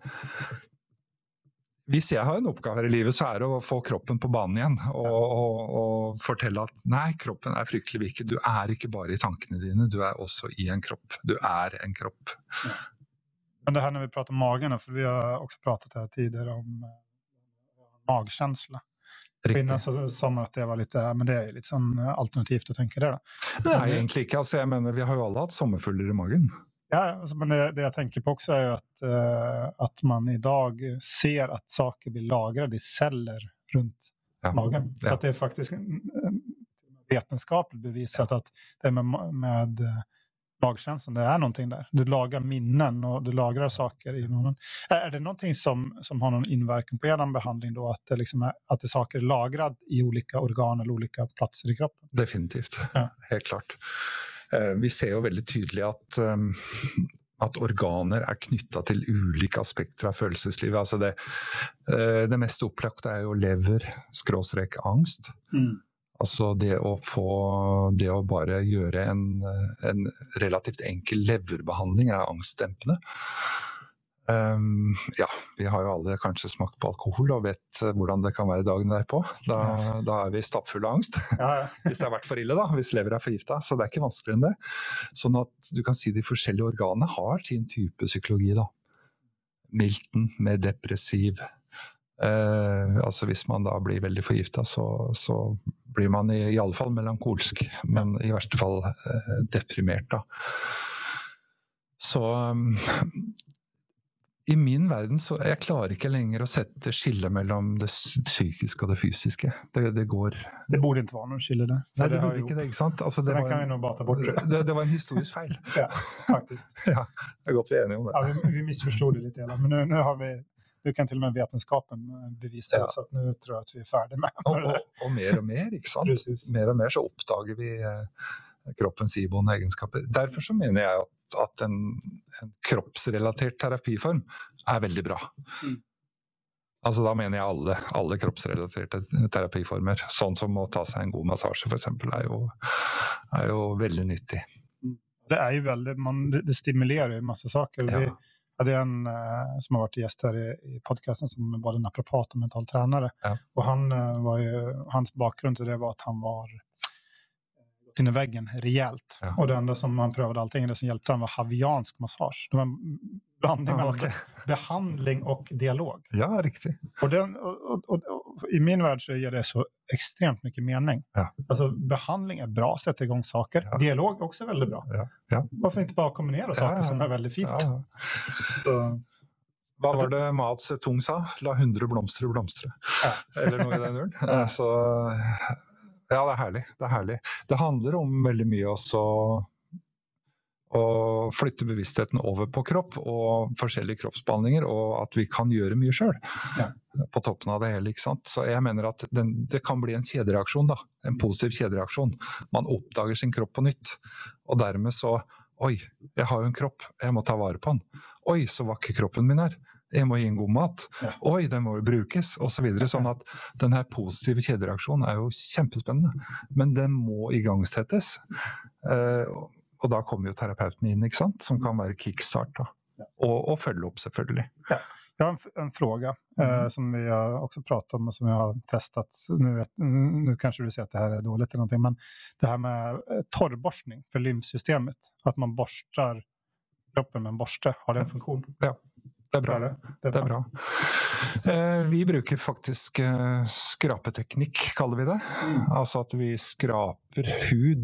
hvis jeg har en oppgave her i livet, så er det å få kroppen på banen igjen, og, og, og fortelle at nei, kroppen er fryktelig viktig. Du er ikke bare i tankene dine, du er også i en kropp. Du er en kropp. Men det här när vi pratar om magen, för vi har också pratat här tidigare om uh, magkänsla. Innan så sa man att det var lite, men det är lite sån alternativt att tänka det då. Nej, egentligen inte. Alltså, jag menar, vi har ju alla haft sommarfuller i magen. Ja, alltså, men det, det jag tänker på också är ju att, uh, att man idag ser att saker blir lagrade i celler runt ja. magen. Så ja. att det är faktiskt vetenskapligt bevisat ja. att det med, med magkänslan, det är någonting där. Du lagar minnen och du lagrar saker i munnen. Är det någonting som, som har någon inverkan på er behandling då? Att det, liksom är, att det saker är lagrad i olika organ eller olika platser i kroppen? Definitivt, ja. Helt klart. Vi ser jo veldig tydelig at, um, at organer er knyttet til ulike aspekter av følelseslivet. Altså det, uh, det mest opplagte er jo lever, skråstrek, angst. Mm. Altså det å få, det å bare gjøre en, en relativt enkel leverbehandling er angstdempende. Um, ja, vi har jo alle kanskje smakt på alkohol og vet hvordan det kan være dagen derpå. Da, da er vi stappfulle av angst. Ja, ja. Hvis det har vært for ille da, hvis lever er forgiftet, så det er ikke vanskeligere enn det. Sånn at du kan si de forskjellige organene har sin type psykologi da. Milton med depressiv. Uh, altså hvis man da blir veldig forgiftet, så, så blir man i, i alle fall melankolsk, men i verste fall uh, deprimert da. Så um, i min verden så jeg klarer ikke lenger å sette skille mellom det psykiske og det fysiske. Det, det går... Det borde ikke være noen skille der. Nei, det, det burde ikke det, ikke sant? Altså, det, det var kan vi nå bare ta bort. Det, det var en historisk feil. Ja, faktisk. Ja, det er godt vi er enige om det. Ja, vi, vi misforstod det litt, men nu, nu har vi... Du kan till och med vetenskapen bevisa ja. Så att nu tror jag att vi är färdiga med det. Och, och, och mer och mer, ikke sant? Precis. Mer och mer så uppdager vi eh, kroppens iboende egenskaper. Därför så menar jag att, att en, en kroppsrelaterad terapiform är väldigt bra. Mm. Alltså då menar jag alla, alla kroppsrelaterade terapiformer. Sånt som att ta sig en god massage för exempel är ju, är ju väldigt nyttig. Det är ju väldigt, man, det, det stimulerar ju en massa saker. Ja. Vi hade en uh, som har varit gäst här i, i podcasten som var naprapat och mental tränare. Ja. Och han, uh, var ju, hans bakgrund till det var att han var in i väggen rejält. Ja. Och det enda som han prövade allting, det som hjälpte han var haviansk massage. Det var en blandning mellan ja, okay. behandling och dialog. Ja, riktigt. Och, den, och, och, och, och i min värld så ger det så extremt mycket mening. Ja. Alltså behandling är bra, sätter igång saker. Ja. Dialog är också väldigt bra. Ja. Ja. Varför inte bara kombinera saker ja. som är väldigt fint? Ja. Så, vad var det Mao Zedong sa? La hundre blomstre blomstre. Ja. Eller noe i den duren. Ja. Så... Ja, det er herlig. Det er herlig. Det handler om veldig mye også å flytte bevisstheten over på kropp og forskjellige kroppsbehandlinger, og at vi kan gjøre mye selv ja. på toppen av det hele, ikke sant? Så jeg mener at den, det kan bli en kjedereaksjon da, en positiv kjedereaksjon. Man oppdager sin kropp på nytt, og dermed så, oi, jeg har jo en kropp, jeg må ta vare på den. Oi, så vakker kroppen min er. Jeg må gi en god mat. Ja. Oi, den må jo brukes, og så videre. Sånn at den her positive kjedereaksjonen er jo kjempespennende. Men den må igangsettes. Eh, og da kommer jo terapeuten inn, ikke sant? Som kan være kickstart da. Ja. Og, og følge opp selvfølgelig. Ja. Jag har en, en fråga mm. eh, som vi har också pratat om och som jag har testat. Nu, vet, nu kanske du säger att det här är dåligt eller någonting, men det här med eh, torrborstning för lymfsystemet. Att man borstar kroppen med en borste. Har det en funktion? Ja. Det er bra. Det er, det. Det er bra. Eh, vi bruker faktisk eh, skrapeteknikk, kaller vi det. Mm. Altså at vi skraper hud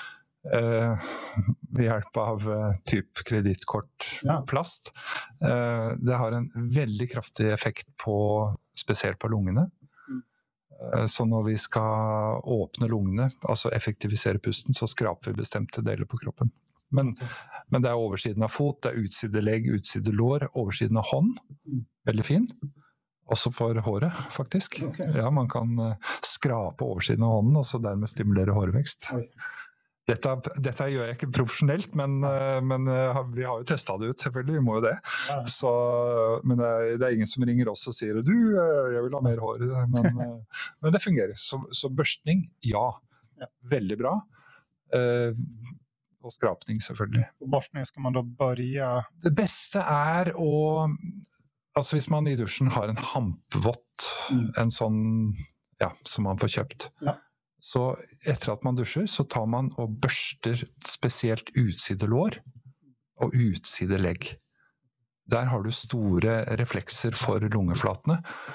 eh, ved hjelp av eh, typ kredittkortplast. Ja. Eh, det har en veldig kraftig effekt på, spesielt på lungene. Mm. Eh, så når vi skal åpne lungene, altså effektivisere pusten, så skraper vi bestemte deler på kroppen. Men, okay. men det er oversiden av fot, det er utside legg, utside lår, oversiden av hånd, veldig fin. Også for håret, faktisk. Okay. Ja, man kan uh, skrape oversiden av hånden, og så dermed stimulere hårvekst. Dette, dette gjør jeg ikke profesjonelt, men, uh, men uh, vi har jo testet det ut, selvfølgelig, vi må jo det. Ja. Så, men det er, det er ingen som ringer oss og sier, du, uh, jeg vil ha mer hår. Men, uh, men det fungerer. Så, så børstning, ja. ja. Veldig bra. Uh, og skrapning selvfølgelig. Og borstning skal man da börja? Det beste er å, altså hvis man i dusjen har en hampvott, mm. en sånn, ja, som man får kjøpt. Ja. Så etter at man dusjer, så tar man og børster spesielt utside lår og utside legg. Der har du store reflekser for lungeflatene,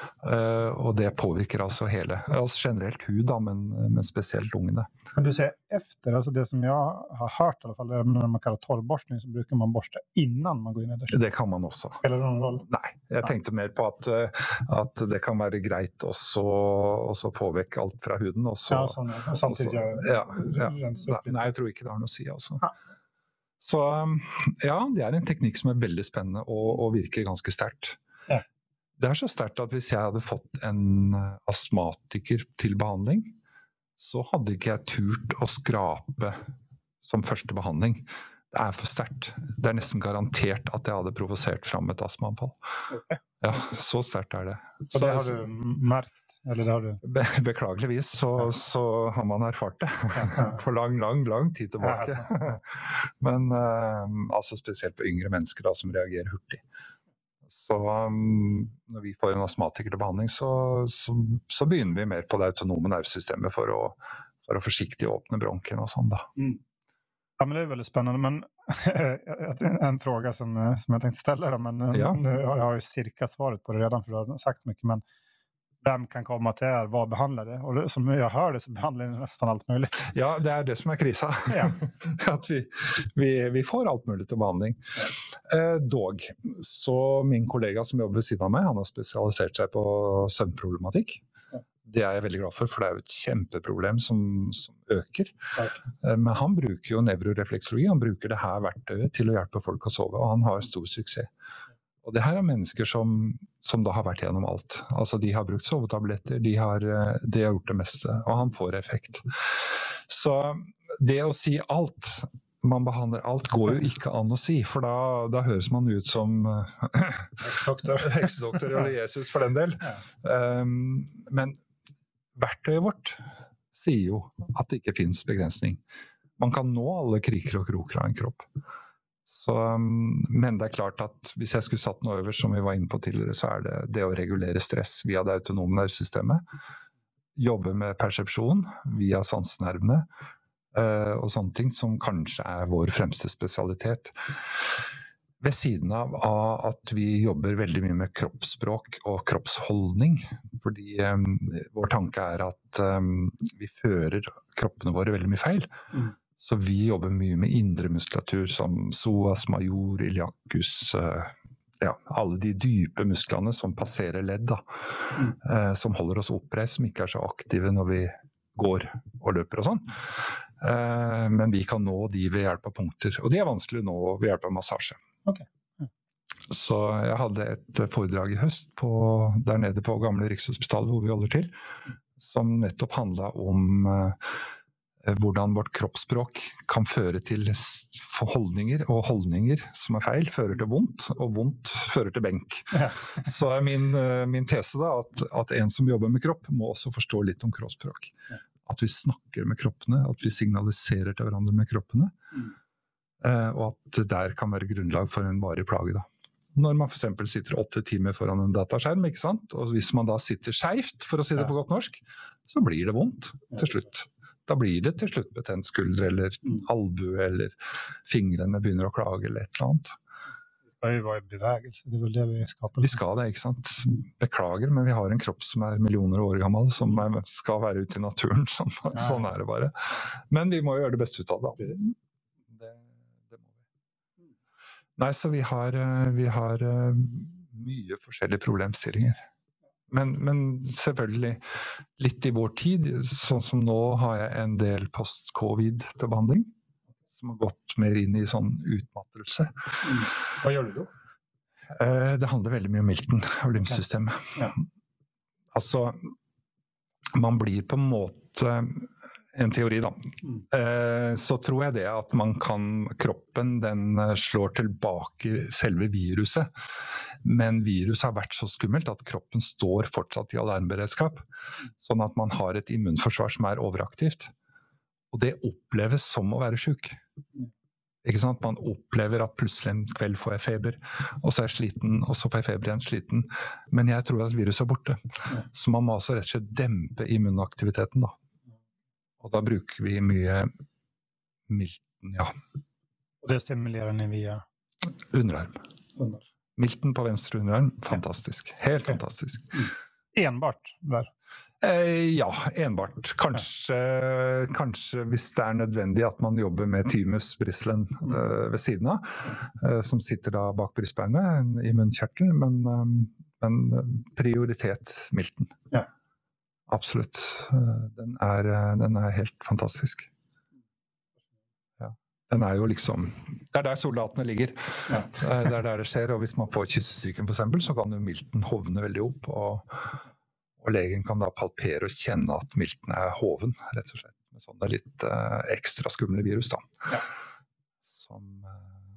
og det påvirker altså hele, altså generelt hud da, men, men spesielt lungene. Men du säger efter, alltså det som jag har hört i alla fall, när man kallar torrborstning så brukar man borsta innan man går in i duschen. Det kan man også. Spelar det någon roll? Nei, jeg ja. tenkte mer på at, at det kan være greit også, også få vekk alt fra huden. Også, ja, sånn, og samtidig gjøre ja, ja. Nei, jeg tror ikke det har noe å si altså. Ja. Så ja, det er en teknikk som er veldig spennende og, og virker ganske sterkt. Ja. Det er så sterkt at hvis jeg hadde fått en astmatiker til behandling, så hadde ikke jeg turt å skrape som første behandling. Det er for sterkt. Det er nesten garantert at jeg hadde provosert fram et astmaanfall. Okay. Ja, så sterkt er det. Og det har du merkt? Eller det har du... Be beklageligvis så, ja. så har man erfart det. For lang, lang, lang tid tilbake. Ja, Men uh, altså spesielt på yngre mennesker da, som reagerer hurtig. Så um, når vi får en astmatiker til behandling, så, så, så begynner vi mer på det autonome nervesystemet for å, for å forsiktig åpne bronken og sånn da. Mm. Ja, men det är väldigt spännande, men en fråga som, som jag tänkte ställa då, men ja. nu har jag ju cirka svaret på det redan för du har sagt mycket, men vem kan komma till er, vad behandlar det? Och som jag hör det så behandlar det nästan allt möjligt. Ja, det är det som är krisa. Ja. Att vi, vi, vi får allt möjligt till behandling. Eh, dog, så min kollega som jobbar vid sidan av mig, han har specialiserat sig på sömnproblematik. Det er jeg veldig glad for, for det er jo et kjempeproblem som, som øker. Ja. Men han bruker jo nevrorefleksologi, han bruker det her verktøyet til å hjelpe folk å sove, og han har stor suksess. Og det her er mennesker som, som da har vært gjennom alt. Altså de har brukt sovetabletter, de har, de har gjort det meste, og han får effekt. Så det å si alt, man behandler alt, går jo ikke an å si, for da, da høres man ut som Heksdoktor. Heksdoktor eller Jesus for den del. Ja. Um, men verktøyet vårt sier jo at det ikke finnes begrensning. Man kan nå alle kriker og kroker av en kropp. Så, men det er klart at hvis jeg skulle satt noe over, som vi var inne på tidligere, så er det det å regulere stress via det autonome nervesystemet. Jobbe med persepsjon via sansenervene, og sånne ting som kanskje er vår fremste spesialitet. Ved siden av at vi jobber veldig mye med kroppsspråk og kroppsholdning, fordi um, vår tanke er at um, vi fører kroppene våre veldig mye feil. Mm. Så vi jobber mye med indre muskulatur som psoas major, iliacus, uh, ja, alle de dype musklene som passerer ledd, da, mm. uh, som holder oss oppreist, som ikke er så aktive når vi går og løper og sånn. Uh, men vi kan nå de ved hjelp av punkter, og de er vanskelig å nå ved hjelp av massasje. Okay. Ja. Så jeg hadde et foredrag i høst på, der nede på gamle Rikshospitalet hvor vi holder til, som nettopp handlet om uh, hvordan vårt kroppsspråk kan føre til holdninger, og holdninger som er feil fører til vondt, og vondt fører til benk. Ja. Så er min, uh, min tese da at, at en som jobber med kropp må også forstå litt om kroppsspråk. Ja. At vi snakker med kroppene, at vi signaliserer til hverandre med kroppene. Mm. Uh, og at det der kan være grunnlag for en varig plage da. Når man for eksempel sitter åtte timer foran en dataskjerm, ikke sant? Og hvis man da sitter skjevt, for å si det på godt norsk, så blir det vondt til slutt. Da blir det til slutt betent skulder, eller albue, eller fingrene begynner å klage, eller et eller annet. Det skal jo være bevegelse, det er vel det vi skaper. Vi skal det, ikke sant? Beklager, men vi har en kropp som er millioner år gammel, som er, skal være ute i naturen, sånn, sånn er det bare. Men vi må gjøre det beste ut av det. Nei, så vi har, vi har mye forskjellige problemstillinger. Men, men selvfølgelig, litt i vår tid, sånn som nå har jeg en del post-covid til behandling, som har gått mer inn i sånn utmattelse. Hva gjør du da? Det handler veldig mye om milten og lymfsystemet. Ja. Altså, man blir på en måte... En teori da. Mm. Så tror jeg det at man kan, kroppen den slår tilbake selve viruset, men viruset har vært så skummelt at kroppen står fortsatt i alarmberedskap, sånn at man har et immunforsvar som er overaktivt. Og det oppleves som å være syk. Ikke sant? Man opplever at plutselig en kveld får jeg feber, og så er jeg sliten, og så får jeg feber igjen sliten. Men jeg tror at viruset er borte. Så man må altså rett og slett dempe immunaktiviteten da. Og da bruker vi mye milten, ja. Og det stimulerer ni via? Underarm. Underarm. Milten på venstre underarm, fantastisk. Helt okay. Fantastisk. Mm. Enbart der? Eh, ja, enbart. Kanskje, ja. Kanskje hvis det er nødvendig at man jobber med thymus bristlen mm. uh, ved siden av, uh, som sitter da bak brystbeinet i munnkjertelen, men, um, men prioritet milten. Ja. Absolutt. Den er, den er helt fantastisk. Ja. Den er jo liksom... Det er der soldatene ligger. Ja. Det er der det skjer, og hvis man får kyssesyken for eksempel, så kan jo milten hovne veldig opp, og, og legen kan da palpere og kjenne at milten er hoven, rett og slett. Med sånne litt uh, ekstra skumle virus da. Ja. Som... Uh,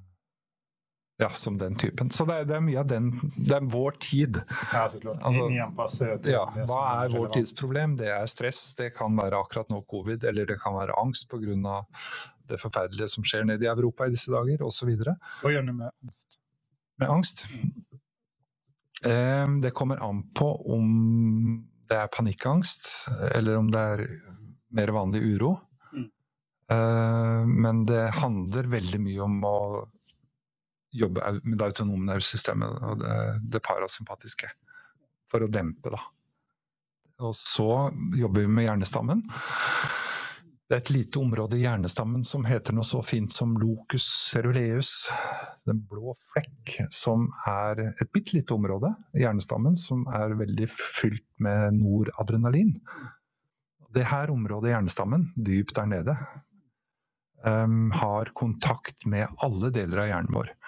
Ja, som den typen. Så det er, det er mye av den, det er vår tid. Ja, så klart. Altså, ja, hva er vår tids problem? Det er stress, det kan være akkurat nå covid, eller det kan være angst på grunn av det forferdelige som skjer nede i Europa i disse dager, og så videre. Hva gjør du med angst? Med angst? Mm. Det kommer an på om det er panikkangst, eller om det er mer vanlig uro. Mm. Men det handler veldig mye om å jobbe med det autonome nervesystemet og det, det parasympatiske for å dempe da. Og så jobber vi med hjernestammen. Det er et lite område i hjernestammen som heter noe så fint som locus ceruleus, den blå flekk, som er et bittelite område i hjernestammen som er veldig fylt med noradrenalin. Det her området i hjernestammen, dypt der nede, um, har kontakt med alle deler av hjernen vår.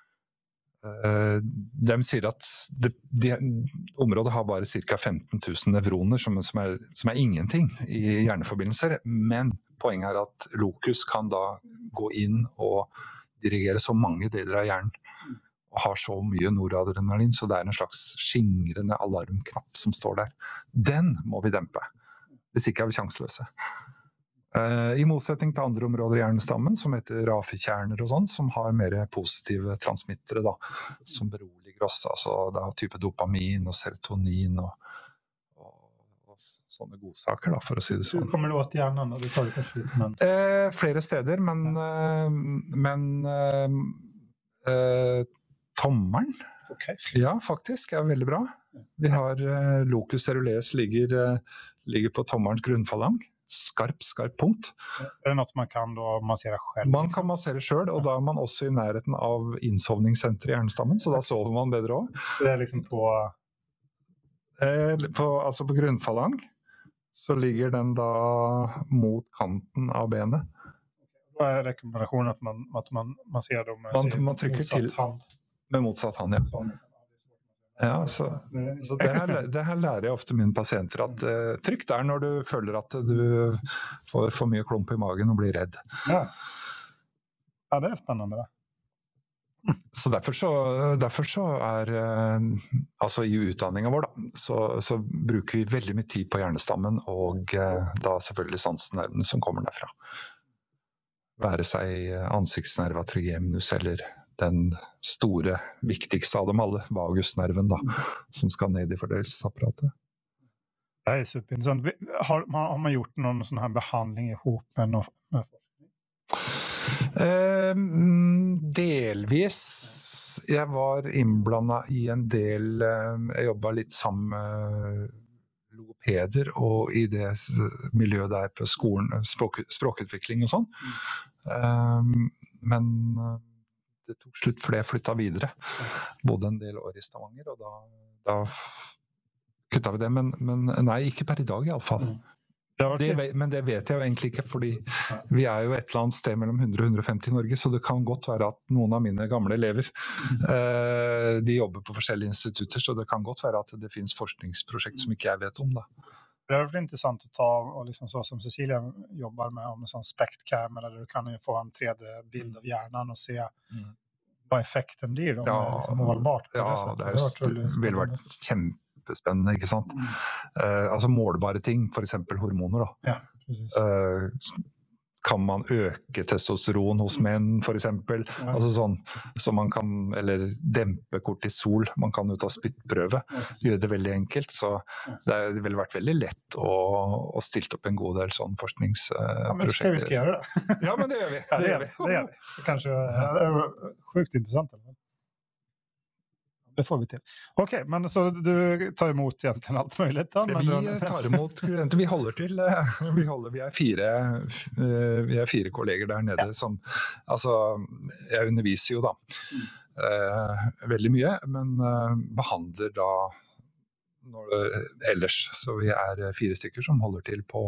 Uh, de sier at det, de, området har bare ca. femten tusen nevroner som, som, er, som er ingenting i hjerneforbindelser, men poenget er at locus kan da gå inn og dirigere så mange deler av hjernen og har så mye noradrenalin, så det er en slags skingrende alarmknapp som står der. Den må vi dempe, hvis ikke er vi sjanseløse. Uh, I motsetning til andre områder i hjernestammen, som heter rafikjerner og sånn, som har mer positive transmittere, da, som beroliger oss, altså da type dopamin og serotonin og, og, og sånne godsaker, da, for å si det sånn. Hvor kommer det åt hjernen? Du sa det kanskje litt, men... Uh, flere steder, men, uh, men uh, uh, tommeren, okay. Ja, faktisk, er veldig bra. Vi har uh, locus ceruleus ligger, uh, ligger på tommerens grunnfalang. Skarp, skarp punkt. Er det noe man kan da massere selv? Man kan massere selv, og da er man også i nærheten av innsovningssenteret i hjernestammen, så da sover man bedre også. Det er liksom på... Eh, på altså på grunnfalang, så ligger den da mot kanten av benet. Hva er rekommendasjonen at man, at man masserer dem med man, man trykker motsatt til, hand? Med motsatt hand, ja. Ja, så, så det, her, det her lærer jeg ofte mine pasienter at uh, trykk der når du føler at du får for mye klump i magen og blir redd. Ja, ja det er spennende det. Så derfor så, derfor så er, uh, altså i utdanningen vår da, så, så bruker vi veldig mye tid på hjernestammen og uh, da selvfølgelig sansenervene som kommer derfra. Være seg ansiktsnerva trigeminus eller den store, viktigste av dem alle, vagusnerven da, som skal ned i fordøyelsesapparatet. Det er superinteressant. Har, har man gjort noen sånn her behandling i hop med forskning? Eh, delvis. Jeg var innblandet i en del, jeg jobbet litt sammen med logopeder og i det miljøet der på skolen, språk, språkutvikling og sånn. Eh, men det tok slutt fordi jeg flyttet videre. Bodde en del år i Stavanger, og da, da kuttet vi det. Men, men nei, ikke per i dag i alle fall. Mm. Det, men det vet jeg jo egentlig ikke, fordi vi er jo et eller annet sted mellom hundre og hundre og femti i Norge, så det kan godt være at noen av mine gamle elever, eh, de jobber på forskjellige institutter, så det kan godt være at det finnes forskningsprosjekt som ikke jeg vet om da. Det er veldig interessant å ta, og liksom så som Cecilia jobber med, med sånn SPECT-cam, eller du kan jo få en tre D-bild av hjernen og se mm. hva effekten blir da, ja, med liksom målbart. Ja, det, er, det, det ville vært kjempespennende, ikke sant? Mm. Uh, altså målbare ting, for eksempel hormoner da. Ja, precis. Uh, kan man øke testosteron hos menn, for eksempel? Ja. Altså sånn, så man kan, eller dempe kortisol, man kan jo ta spyttprøve, gjøre det veldig enkelt, så det ville vært veldig lett å, å stilt opp en god del sånn forskningsprosjekter. Ja, men skal vi skal gjøre det? Ja, men det gjør vi. Ja, det, gjør vi. det gjør vi. Så kanskje, ja, det er sjukt interessant, eller? Det får vi til. Ok, men så du tar imot egentligen alt mulig da? Men vi du... tar imot klienter, vi holder til, vi, holder, vi, er fire, vi er fire kolleger der nede ja. Som, altså, jeg underviser jo da mm. uh, veldig mye, men uh, behandler da når det, ellers, så vi er fire stykker som holder til på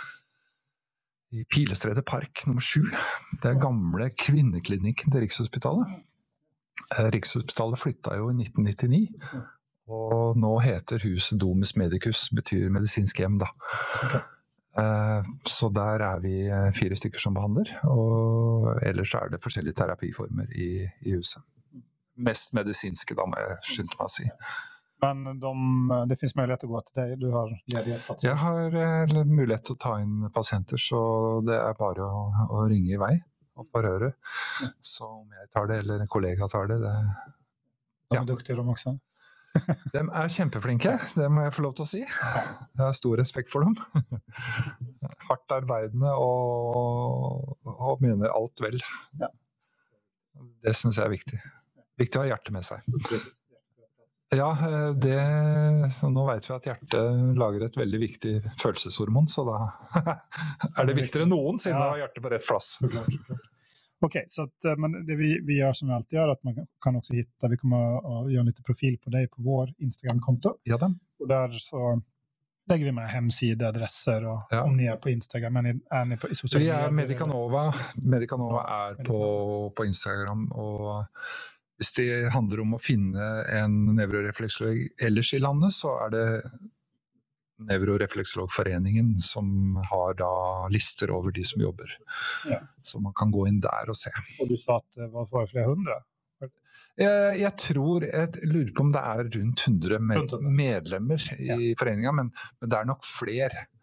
i Pilestredet Park nummer sju, det er gamle kvinneklinikken til Rikshospitalet. Rikshospitalet flyttet jo i nitten nittini, og nå heter huset Domus Medicus, betyr medisinsk hjem da. Okay. Så der er vi fire stykker som behandler, og ellers er det forskjellige terapiformer i, i huset. Mest medisinske da, må jeg skynde meg å si. Men de, det finns mulighet å gå til deg, du har ledige platser? Jeg har mulighet til å ta inn pasienter, så det er bare å, å ringe i vei. Og forhøre. Så om jeg tar det, eller en kollega tar det, det... De er ja. Duktige de også. De er kjempeflinke, det må jeg få lov til å si. Jeg har stor respekt for dem. Hardt arbeidende og, og mener alt vel. Ja. Det synes jeg er viktig. Viktig å ha hjertet med seg. Ja, det, nå vet vi at hjertet lager et veldig viktig følelseshormon, så da er det viktigere enn noen siden ja. Å ha hjertet på rett plass. Ok, så att, men det vi, vi gör som vi alltid gör, att man kan också hitta, vi kommer att göra lite profil på dig på vår Instagram-konto. Ja, då. Och där så lägger vi med hemsida, adresser och ja. Om ni är på Instagram, men är ni på i sociala medier? Vi är Medicanova, Medicanova är ja, på, på Instagram, och hvis det handler om å finne en nevrorefleksolog ellers i landet, så er det Nevrorefleksologforeningen som har da lister over de som jobber. Ja. Så man kan gå inn der og se. Og du sa at det var for flere hundre? Jeg, jeg tror, jeg lurer på om det er rundt hundre med, medlemmer i ja. Foreningen, men, men det er nok flere.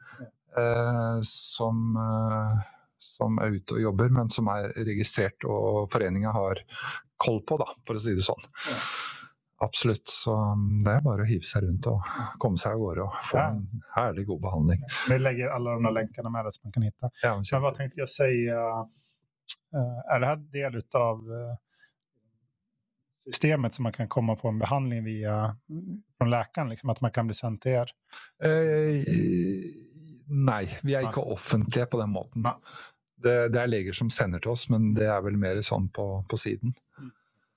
eh, som, eh, som er ute og jobber, men som er registrert, og foreningen har koll på, da, for å si det sånn. Ja. Absolutt, så det er bare å hive seg rundt og komme seg av gårde og få ja. En herlig god behandling. Vi lägger alla de här länkarna med det som man kan hitta. Ja, men, men vad tänkte jag säga, är det här del av systemet som man kan komma och få en behandling via från läkaren, liksom, att man kan bli sänd till er? Eh, nej, vi är inte offentliga på den måten. Det, det är leger som sender till oss, men det är väl mer sånn på, på siden. Mm.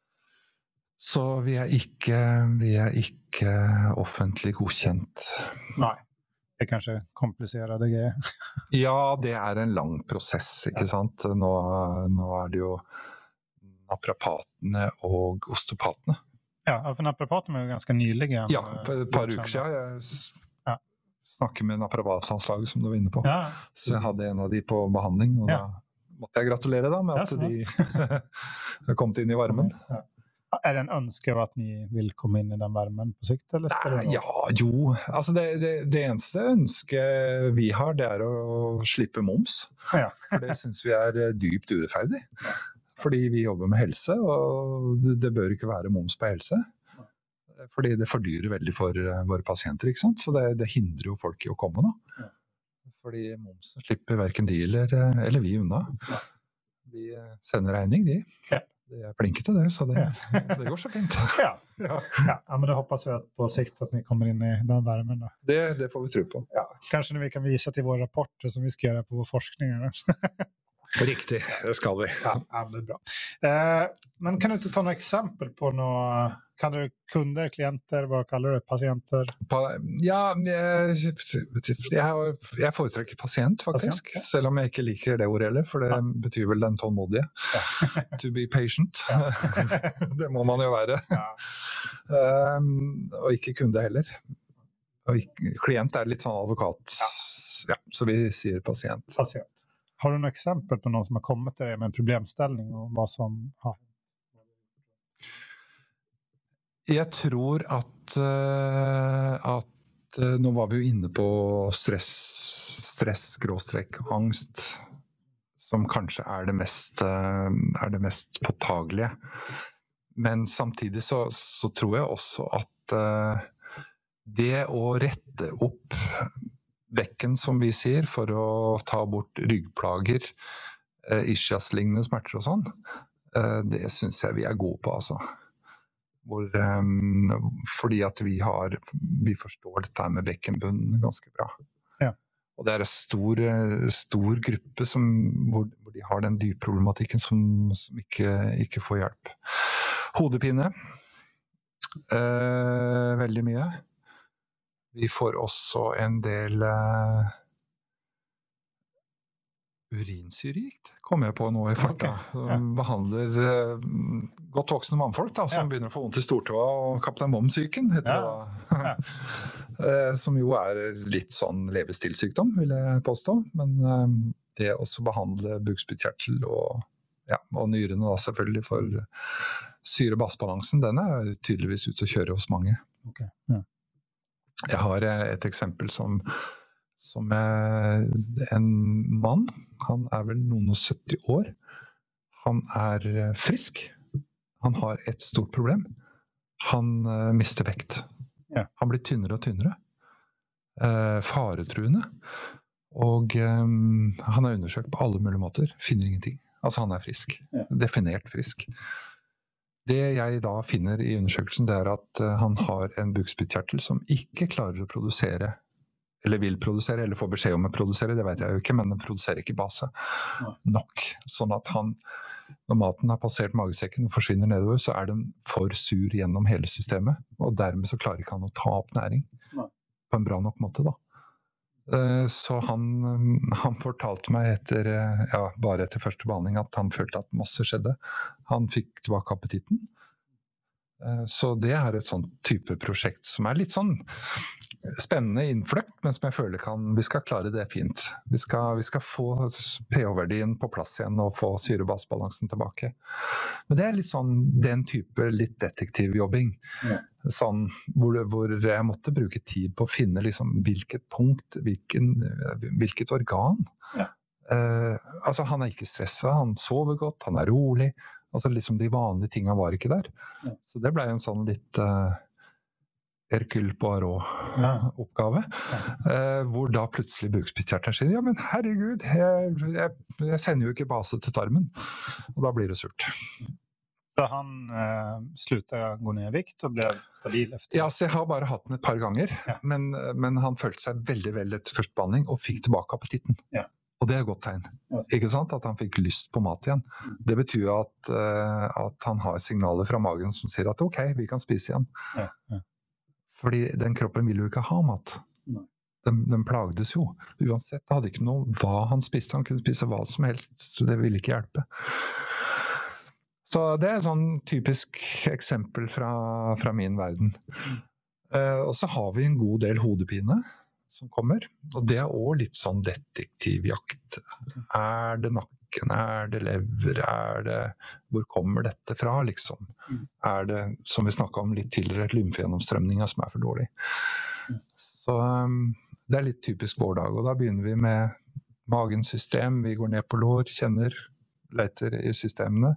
Så vi er ikke, vi er ikke offentlig godkjent. Nei, det er kanskje kompliserte greier. Ja, det er en lang prosess, ikke ja. Sant? Nå, nå er det jo naprapatene og osteopatene. Ja, for naprapatene er jo ganske nylige. Ja, for et par uker siden. Jeg ja. Snakker med naprapatlandslaget som du var inne på. Ja. Så jeg hadde en av de på behandling, og ja. Da måtte jeg gratulere da, med at ja, de har kommet inn i varmen. Ja. Är det en önske att ni vill komma in i den värmen på sikt? Eller Nej, ja, jo. Altså det, det, det eneste ønske vi har, det er å slippe moms. Ja. For det synes vi er dypt urettferdig. Ja. Fordi vi jobber med helse, og det, det bør ikke være moms på helse. Ja. Fordi det fordyrer veldig for våre pasienter, ikke sant? Så det, det hindrer jo folk i å komme da. Ja. Fordi momsen slipper hverken de eller, eller vi unna. Ja. De sender regning, de. Ja. Det är plinkigt det, så det, det går så fint. Ja. Ja. Ja, men det hoppas vi att på sikt att ni kommer in i den värmen då. Det, det får vi tro på. Ja, kanske när vi kan visa till våra rapporter som vi ska göra på vår forskning. Riktigt, det ska vi. Ja, ja, det är bra. Eh, men kan du inte ta några exempel på några, kallar du kunder, klienter, vad kallar du patienter? Pa, ja, jeg, jeg, jeg foretrekker pasient faktisk, pasient, ja. Selv om jeg ikke liker det ordet heller, for det ja. Betyr vel den tålmodige. Ja. To be patient. Ja. Det må man jo være. Ja. Um, og ikke kunde heller. Og ikke, klient er litt sånn advokat, ja. Ja, så vi sier pasient. Pasient. Har du några exempel på någon som har kommit till dig med en problemställning och vad som har? Jag tror att, uh, att uh, nu var vi ju inne på stress, stress, gråstreck, angst som kanske är det mest, uh, är det mest påtagliga. Men samtidigt så, så tror jag också att uh, det att rätta upp bekken, som vi sier, for å ta bort ryggplager, eh, ischias-lignende smerter og sånn, eh, det synes jeg vi er gode på, altså. Hvor, eh, fordi at vi har, vi forstår dette med bekkenbunnen ganske bra. Ja. Og det er en stor, stor gruppe som, hvor, hvor de har den dypproblematikken som, som ikke, ikke får hjelp. Hodepine, eh, veldig mye. Vi får også en del uh, urinsyregikt, kommer jeg på nå i farta. Okay. Ja. Behandler uh, godt voksne mannfolk da, som ja. Begynner å få vondt i stortåa, og kaptein Mom-syken heter ja. Det da. uh, som jo er litt sånn levestilsykdom, vil jeg påstå. Men uh, det også behandle bukspyttkjertel og, ja, og nyrene da selvfølgelig for syre-bassbalansen, den er tydeligvis ute å kjøre hos mange. Ok, ja. Jeg har et eksempel som, som er en mann, han er vel noen og sytti år, han er frisk, han har et stort problem, han uh, mister vekt, ja. Han blir tynnere og tynnere, uh, faretruende, og um, han er undersøkt på alle mulige måter, finner ingenting, altså han er frisk, ja. Definert frisk. Det jeg da finner i undersøkelsen, det er at han har en bukspyttkjertel som ikke klarer å produsere, eller vil produsere, eller får beskjed om å produsere, det vet jeg jo ikke, men den produserer ikke base nok. Sånn at han, når maten har passert magesekken og forsvinner nedover, så er den for sur gjennom hele systemet, og dermed så klarer ikke han å ta opp næring på en bra nok måte da. Så han, han fortalte meg etter, ja, bare etter første behandling at han følte at masse skjedde. Han fikk tilbake appetitten. Så det er et sånt type prosjekt som er litt sånn spennende innfløkt, men som jeg føler kan, vi skal klare det fint. Vi skal, vi skal få pH-verdien på plass igjen og få syre-basebalansen tilbake. Men det er litt sånn, den type litt detektivjobbing. Ja. Sånn, hvor, hvor jeg måtte bruke tid på å finne liksom, hvilket punkt, hvilken, hvilket organ. Ja. Uh, altså, han er ikke stresset, han sover godt, han er rolig. Altså, liksom de vanlige tingene var ikke der. Ja. Så det ble en sånn litt... Uh, Hercule Poirot-oppgave, ja. eh, hvor da plutselig bukspyttkjertelen sier, ja, men herregud, jeg, jeg, jeg sender jo ikke base til tarmen, og da blir det surt. Så han eh, sluttet gå ned i vikt og ble stabil efter? Ja, så jeg har bare hatt den et par ganger, ja. men, men han følte seg veldig vel etter første behandling og fikk tilbake appetitten. Ja. Og det er et godt tegn, ja. Ikke sant? At han fikk lyst på mat igjen. Mm. Det betyr at, uh, at han har signaler fra magen som sier at ok, vi kan spise igjen. Ja. Ja. Fordi den kroppen ville jo ikke ha mat. Den, den plagdes jo. Uansett, det hadde ikke noe hva han spiste. Han kunne spise hva som helst, så det ville ikke hjelpe. Så det er et sånn typisk eksempel fra, fra min verden. Uh, og så har vi en god del hodepine som kommer. Og det er også litt sånn detektivjakt. Er det nakken? Er det lever? Er det, hvor kommer dette fra, liksom? Er det, som vi snakket om litt tidligere, et lymfegjennomstrømninger som er for dårlig? Så um, det er litt typisk vår dag, og da begynner vi med magens system. Vi går ned på lår, kjenner, leter i systemene,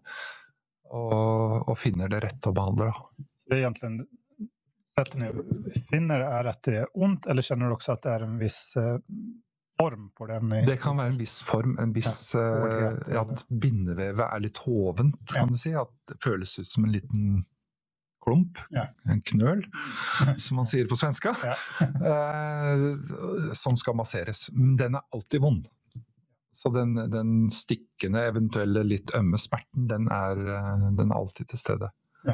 og, og finner det rette å behandle. Det er egentlig, sättet ni finner är att det är ont, eller känner du också att det är en viss eh, form på den? I... Det kan være en viss form, en viss ja, uh, ja, at bindevevet er litt hovent, kan ja. Du si, at det føles ut som en liten klump, ja. En knøl, som man sier på svenska, ja. uh, som skal masseres. Men den er alltid vond. Så den, den stikkende, eventuelle litt ømme smerten, den er, uh, den er alltid til stede.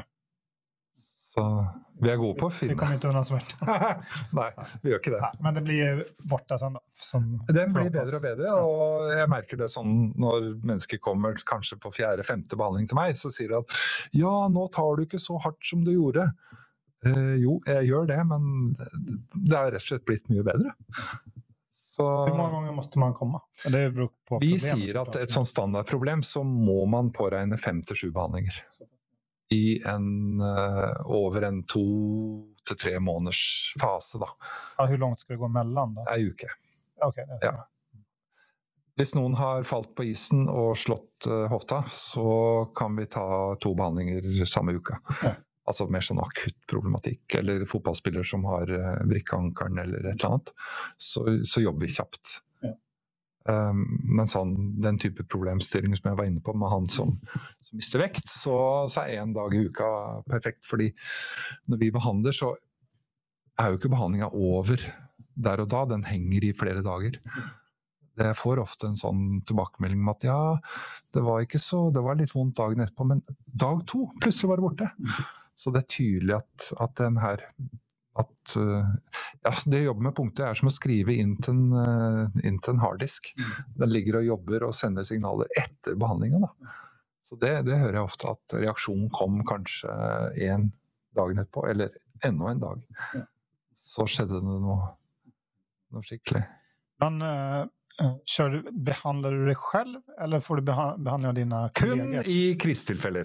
Så vi er gode på å finne. Vi kommer ikke unna smert. Nei, vi gjør ikke det. Ja, men det blir borte sånn da. Som den blir bedre og bedre, og jeg merker det sånn når mennesker kommer kanskje på fjerde, femte behandling til meg, så sier de at ja, nå tar du ikke så hardt som du gjorde. Eh, jo, jeg gjør det, men det er rett og slett blitt mye bedre. Så hvor mange ganger måste man komme? Det beror på vi sier at et sånt standardproblem så må man påregne fem til sju behandlinger. I en, uh, over en to til tre måneders fase da. Ja, hvor langt skal det gå mellom da? En uke. Okay, det er ja. Hvis noen har falt på isen og slått uh, hofta, så kan vi ta to behandlinger samme uka. Ja. Altså mer sånn akutt problematikk, eller fotballspiller som har uh, vrikkeankeren eller et eller annet, så, så jobber vi kjapt. Um, men sånn, den type problemstilling som jeg var inne på med han som, som mister vekt, så, så er en dag i uka perfekt, fordi når vi behandler så er jo ikke behandlingen over der og da, den henger i flere dager. Jeg får ofte en sånn tilbakemelding om at ja, det var ikke så, det var litt vondt dagen etterpå, men dag to, plutselig var det borte. Så det er tydelig at, at den her at uh, ja, det å jobbe med punkter er som å skrive inn til en, uh, inn til en harddisk. Den ligger og jobber og sender signaler etter behandlingen. Da. Så det, det hører jeg ofte, at reaksjonen kom kanskje en dag etterpå, eller enda en dag. Så skjedde det noe, noe skikkelig. Men uh, kör du, behandlar du dig själv, eller får du beha- behandla dina kollegor? Kun i kristilfeller.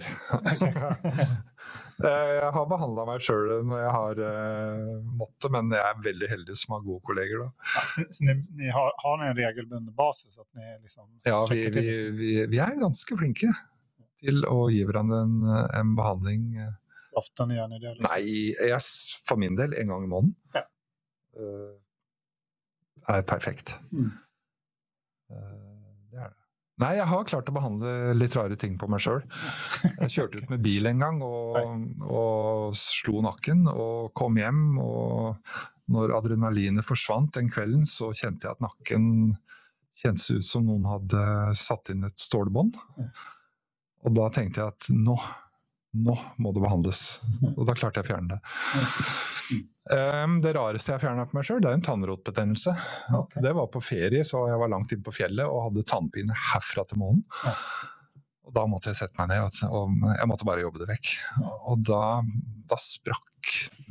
Jeg har behandlet meg selv når jeg har uh, måttet, men jeg er veldig heldig som har gode kolleger da. Ja, så, så ni, ni har, har ni en regelbunden basis? At ni liksom ja, vi, vi, vi, vi er ganske flinke til å gi hverandre en, en behandling. Ofte gjør ni det? Liksom. Nei, jeg, for min del en gang i måneden. Ja. Uh, er perfekt. Mm. Uh, det er det. Nei, jeg har klart å behandle litt rare ting på meg selv. Jeg kjørte ut med bil en gang og, og slo nakken og kom hjem, og når adrenalinet forsvant den kvelden, så kjente jeg at nakken kjentes ut som noen hadde satt inn et stålbånd. Og da tenkte jeg at nå, nå må det behandles. Og da klarte jeg å fjerne det. Um, det rareste jeg fjernet på meg selv, det er en tannrotbetennelse. Okay. Det var på ferie, så jeg var langt inn på fjellet og hadde tannpine herfra til månen. Ja. Og da måtte jeg sette meg ned, og jeg måtte bare jobbe det vekk. Og da, da sprakk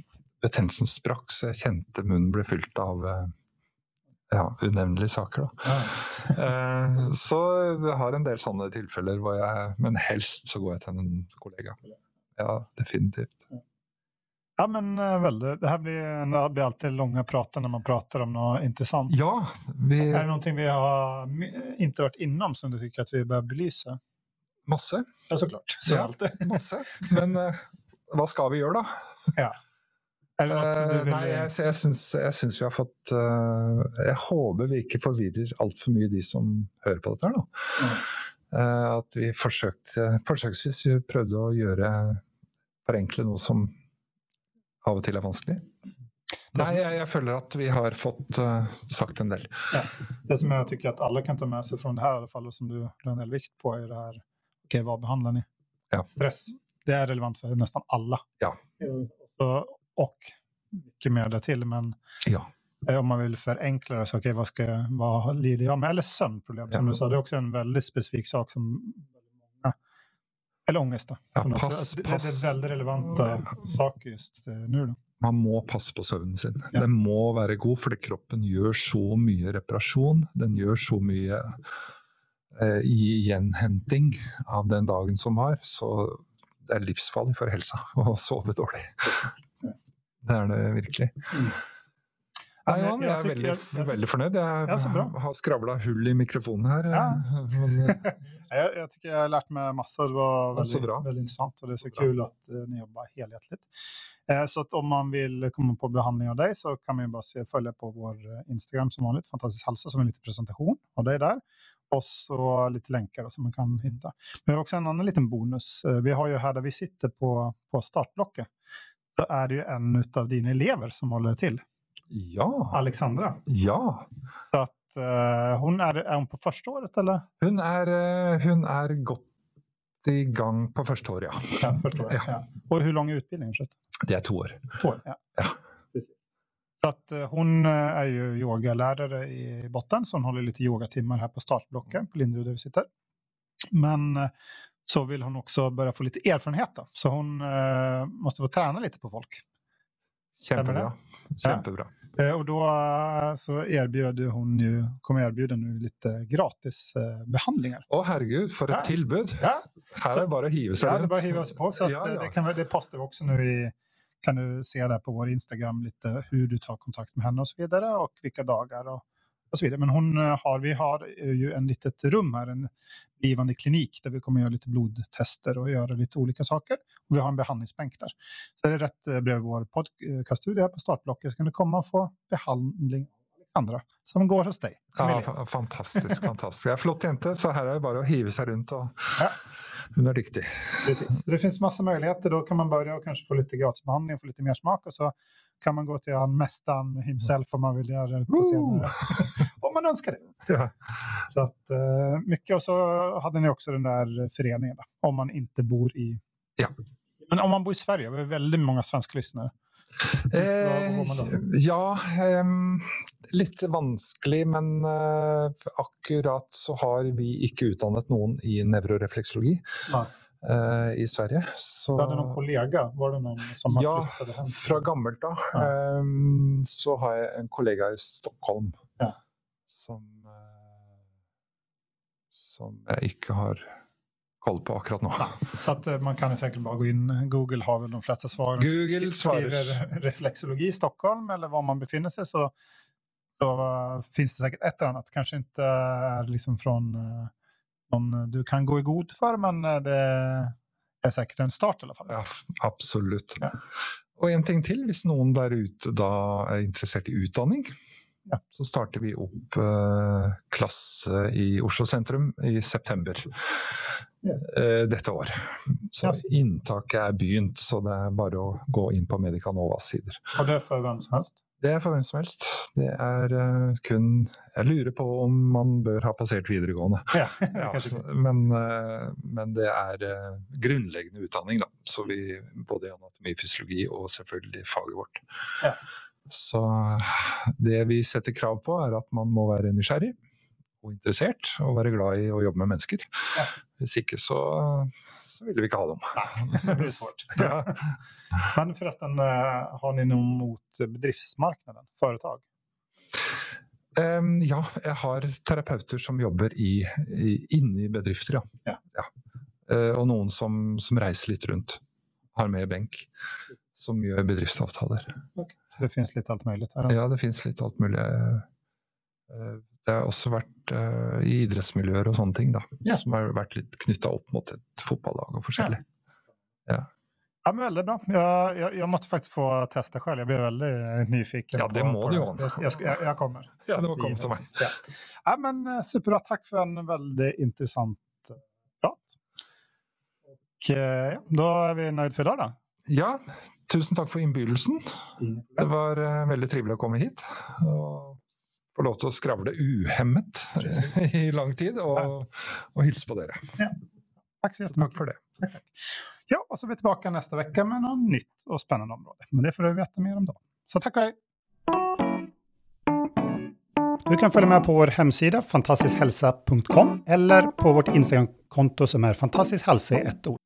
betennelsen sprakk, så jeg kjente munnen ble fylt av ja, unevnelige saker. Da. Ja. eh, så jeg har en del sånne tilfeller, hvor jeg, men helst så går jeg til en kollega. Ja, definitivt. Ja, men uh, väldigt. Det här blir, det blir alltid långa prater när man pratar om något intressant. Ja, vi... Är det någonting vi har inte varit inom som du tycker att vi bör belysa? Masse. Ja, såklart. Så ja, alltid. Masse. Men uh, vad ska vi göra då? Ja. Är det något du vill... uh, nej, jag, jag, syns, jag syns vi har fått... Uh, jag hoppas vi inte förvirrar allt för mycket de som hör på det här då. Mm. Uh, att vi försökte, försöksvis prövde att göra, förenkla något som av och till är vanskligt. Nej, jag, jag följer att vi har fått uh, sagt en del. Ja. Det som jag tycker att alla kan ta med sig från det här i alla fall, och som du la en del vikt på, är det här, okej, okay, vad behandlar ni? Ja. Stress, det är relevant för nästan alla. Ja. Och, och mycket mer där till, men ja. Om man vill förenkla det så, okej, okay, vad, ska, vad lider jag med? Eller sömnproblem, som ja. Du sa, det är också en väldigt specifik sak som många, eller ångest då. Ja, pass, det, pass. det är väldigt relevanta saker just nu då. Man må passe på søvnen sin. Ja. Den må være god, fordi kroppen gjør så mye reparasjon. Den gjør så mye eh, gjenhenting av den dagen som var. Så det er livsfarlig for helsa å sove dårlig. Det er det virkelig. Mm. Nei, Johan, jeg er veldig, jeg, jeg, veldig fornøyd. Jeg ja, har skravlet hull i mikrofonen her. Ja. Men, jag, jag tycker jag har lärt mig massa. Det var väldigt, väldigt intressant, och det är så, så kul att uh, ni jobbar helhjärtligt. Uh, så att om man vill komma på behandling av dig så kan man ju bara se, följa på vår Instagram som vanligt, Fantastisk Hälsa, som en liten presentation av dig där. Och så lite länkar då, som man kan hitta. Men vi har också en annan liten bonus. Uh, vi har ju här där vi sitter på, på startblocket, så är det ju en av dina elever som håller till. Ja. Alexandra. Ja. Så att uh, hon är, är hon på första året eller? Hon är uh, hon är gått igång på första året, ja. Ja, första året, ja. Ja. Och hur lång är utbildningen? Det är två år. Två år, ja. Ja. Precis. Så att uh, hon uh, är ju yogalärare i botten, så hon håller lite yogatimmar här på startblocken på Linderud där vi sitter. Men uh, så vill hon också börja få lite erfarenhet då. Så hon uh, måste få träna lite på folk. Kämpebra. Kämpebra. Ja. Och då så erbjuder hon ju, kommer erbjuda nu lite gratis eh, behandlingar. Åh herregud, för ett ja. tillbud. Ja. Här så, är det bara att hiva sig. Ja, det är bara att hiva sig på. Så att, ja, ja. Det, kan, det postar vi också nu i, kan du se där på vår Instagram lite hur du tar kontakt med henne och så vidare, och vilka dagar och, och så vidare. Men hon har, vi har ju en litet rum här, en blivande klinik där vi kommer göra lite blodtester och göra lite olika saker. Och vi har en behandlingsbänk där. Så det är rätt bredvid vår podcaststudio här på startblocket, så kan du komma och få behandling av Alexandra som går hos dig. Ja, f- fantastiskt, fantastiskt. Jag är flott jente, så här är det bara att hiva sig runt och ja. Hon är riktig. Precis. Det finns massa möjligheter. Då kan man börja och kanske få lite gratisbehandling och få lite mer smak, och så kan man gå till han mästaren himself om man vill göra det på senare. Om man önskar det. Ja. Så att, uh, mycket. Och så hade ni också den där föreningen då, om man inte bor i... Ja. Men om man bor i Sverige, vi har väldigt många svenska lyssnare. Eh, ja, eh, lite vanskelig, men eh, akkurat så har vi inte utdannet någon i neuroreflexologi eh, i Sverige. Så... Var det någon kollega? Var det någon som har ja, flyttat hem? Från gammalt då. Ja. Eh, så har jag en kollega i Stockholm ja. som, eh, som jag inte har koll på akkurat nu. Ja, så att man kan säkert bara gå in. Google har väl de flesta svaren. Google skriver reflexologi i Stockholm eller var man befinner sig, så, så uh, finns det säkert ett eller annat. Kanske inte är uh, liksom från uh, någon du kan gå i god för, men uh, det är säkert en start i alla fall. Ja, absolut. Ja. Och en ting till, hvis någon där ute då är intresserad i utdanning, ja. så startar vi upp uh, klass i Oslo Centrum i september. Yes. Uh, detta år. Så yes. Inntaket är begynt, så det är bara att gå in på Medica Novas sidor. Och det är för vem som helst? Det är för vem som helst. Det är uh, kun, jag lurer på om man bör ha passerat videregående. Ja, ja, men, uh, men det är uh, grundläggande utdanning då. Så vi, både anatomi, fysiologi och selvfølgelig faget vårt. Ja. Så det vi sätter krav på är att man må vara nysgjerrig och intresserad och vara glad i att jobba med människor. Ja. Hvis ikke så, så vill vi inte ha dem. Nej, det blir svårt. Ja. Men förresten, har ni något mot bedriftsmarknaden, företag? Um, ja, jag har terapeuter som jobbar i, i, inne i bedrifter, ja. Ja. Ja. Uh, och någon som, som reser lite runt, har med bänk, som gör bedriftsavtaler. Okay. Det finns lite allt möjligt här. Då. Ja, det finns lite allt möjligt. Uh, det har också varit uh, i idrottsmiljöer och sånt ting då, ja. Som har varit lite knytta upp mot ett fotbollslag och forskjellig. Ja. Ja. Ja, men väldigt bra. Jag, jag, jag måste faktiskt få testa själv. Jag blir väldigt nyfiken. Ja, det på, må på du ju. ju. Jag, jag, jag kommer. Ja, det må komma som mig. Ja. Ja, men superbra. Tack för en väldigt intressant prat. Och ja, då är vi nöjd för idag då. Ja, tusen tack för inbjudelsen. Mm. Det var uh, väldigt trevligt att komma hit. Och få lov till att skravla uhämmet i lång tid och, ja. och hilsa på er. Ja. Tack så jättemycket. Tack för det. Tack, tack. Ja, och så är vi tillbaka nästa vecka med något nytt och spännande område. Men det får du veta mer om då. Så tack och hej! Du kan följa med på vår hemsida fantastiskhälsa punkt com eller på vårt Instagramkonto som är fantastiskhälsa i ett ord.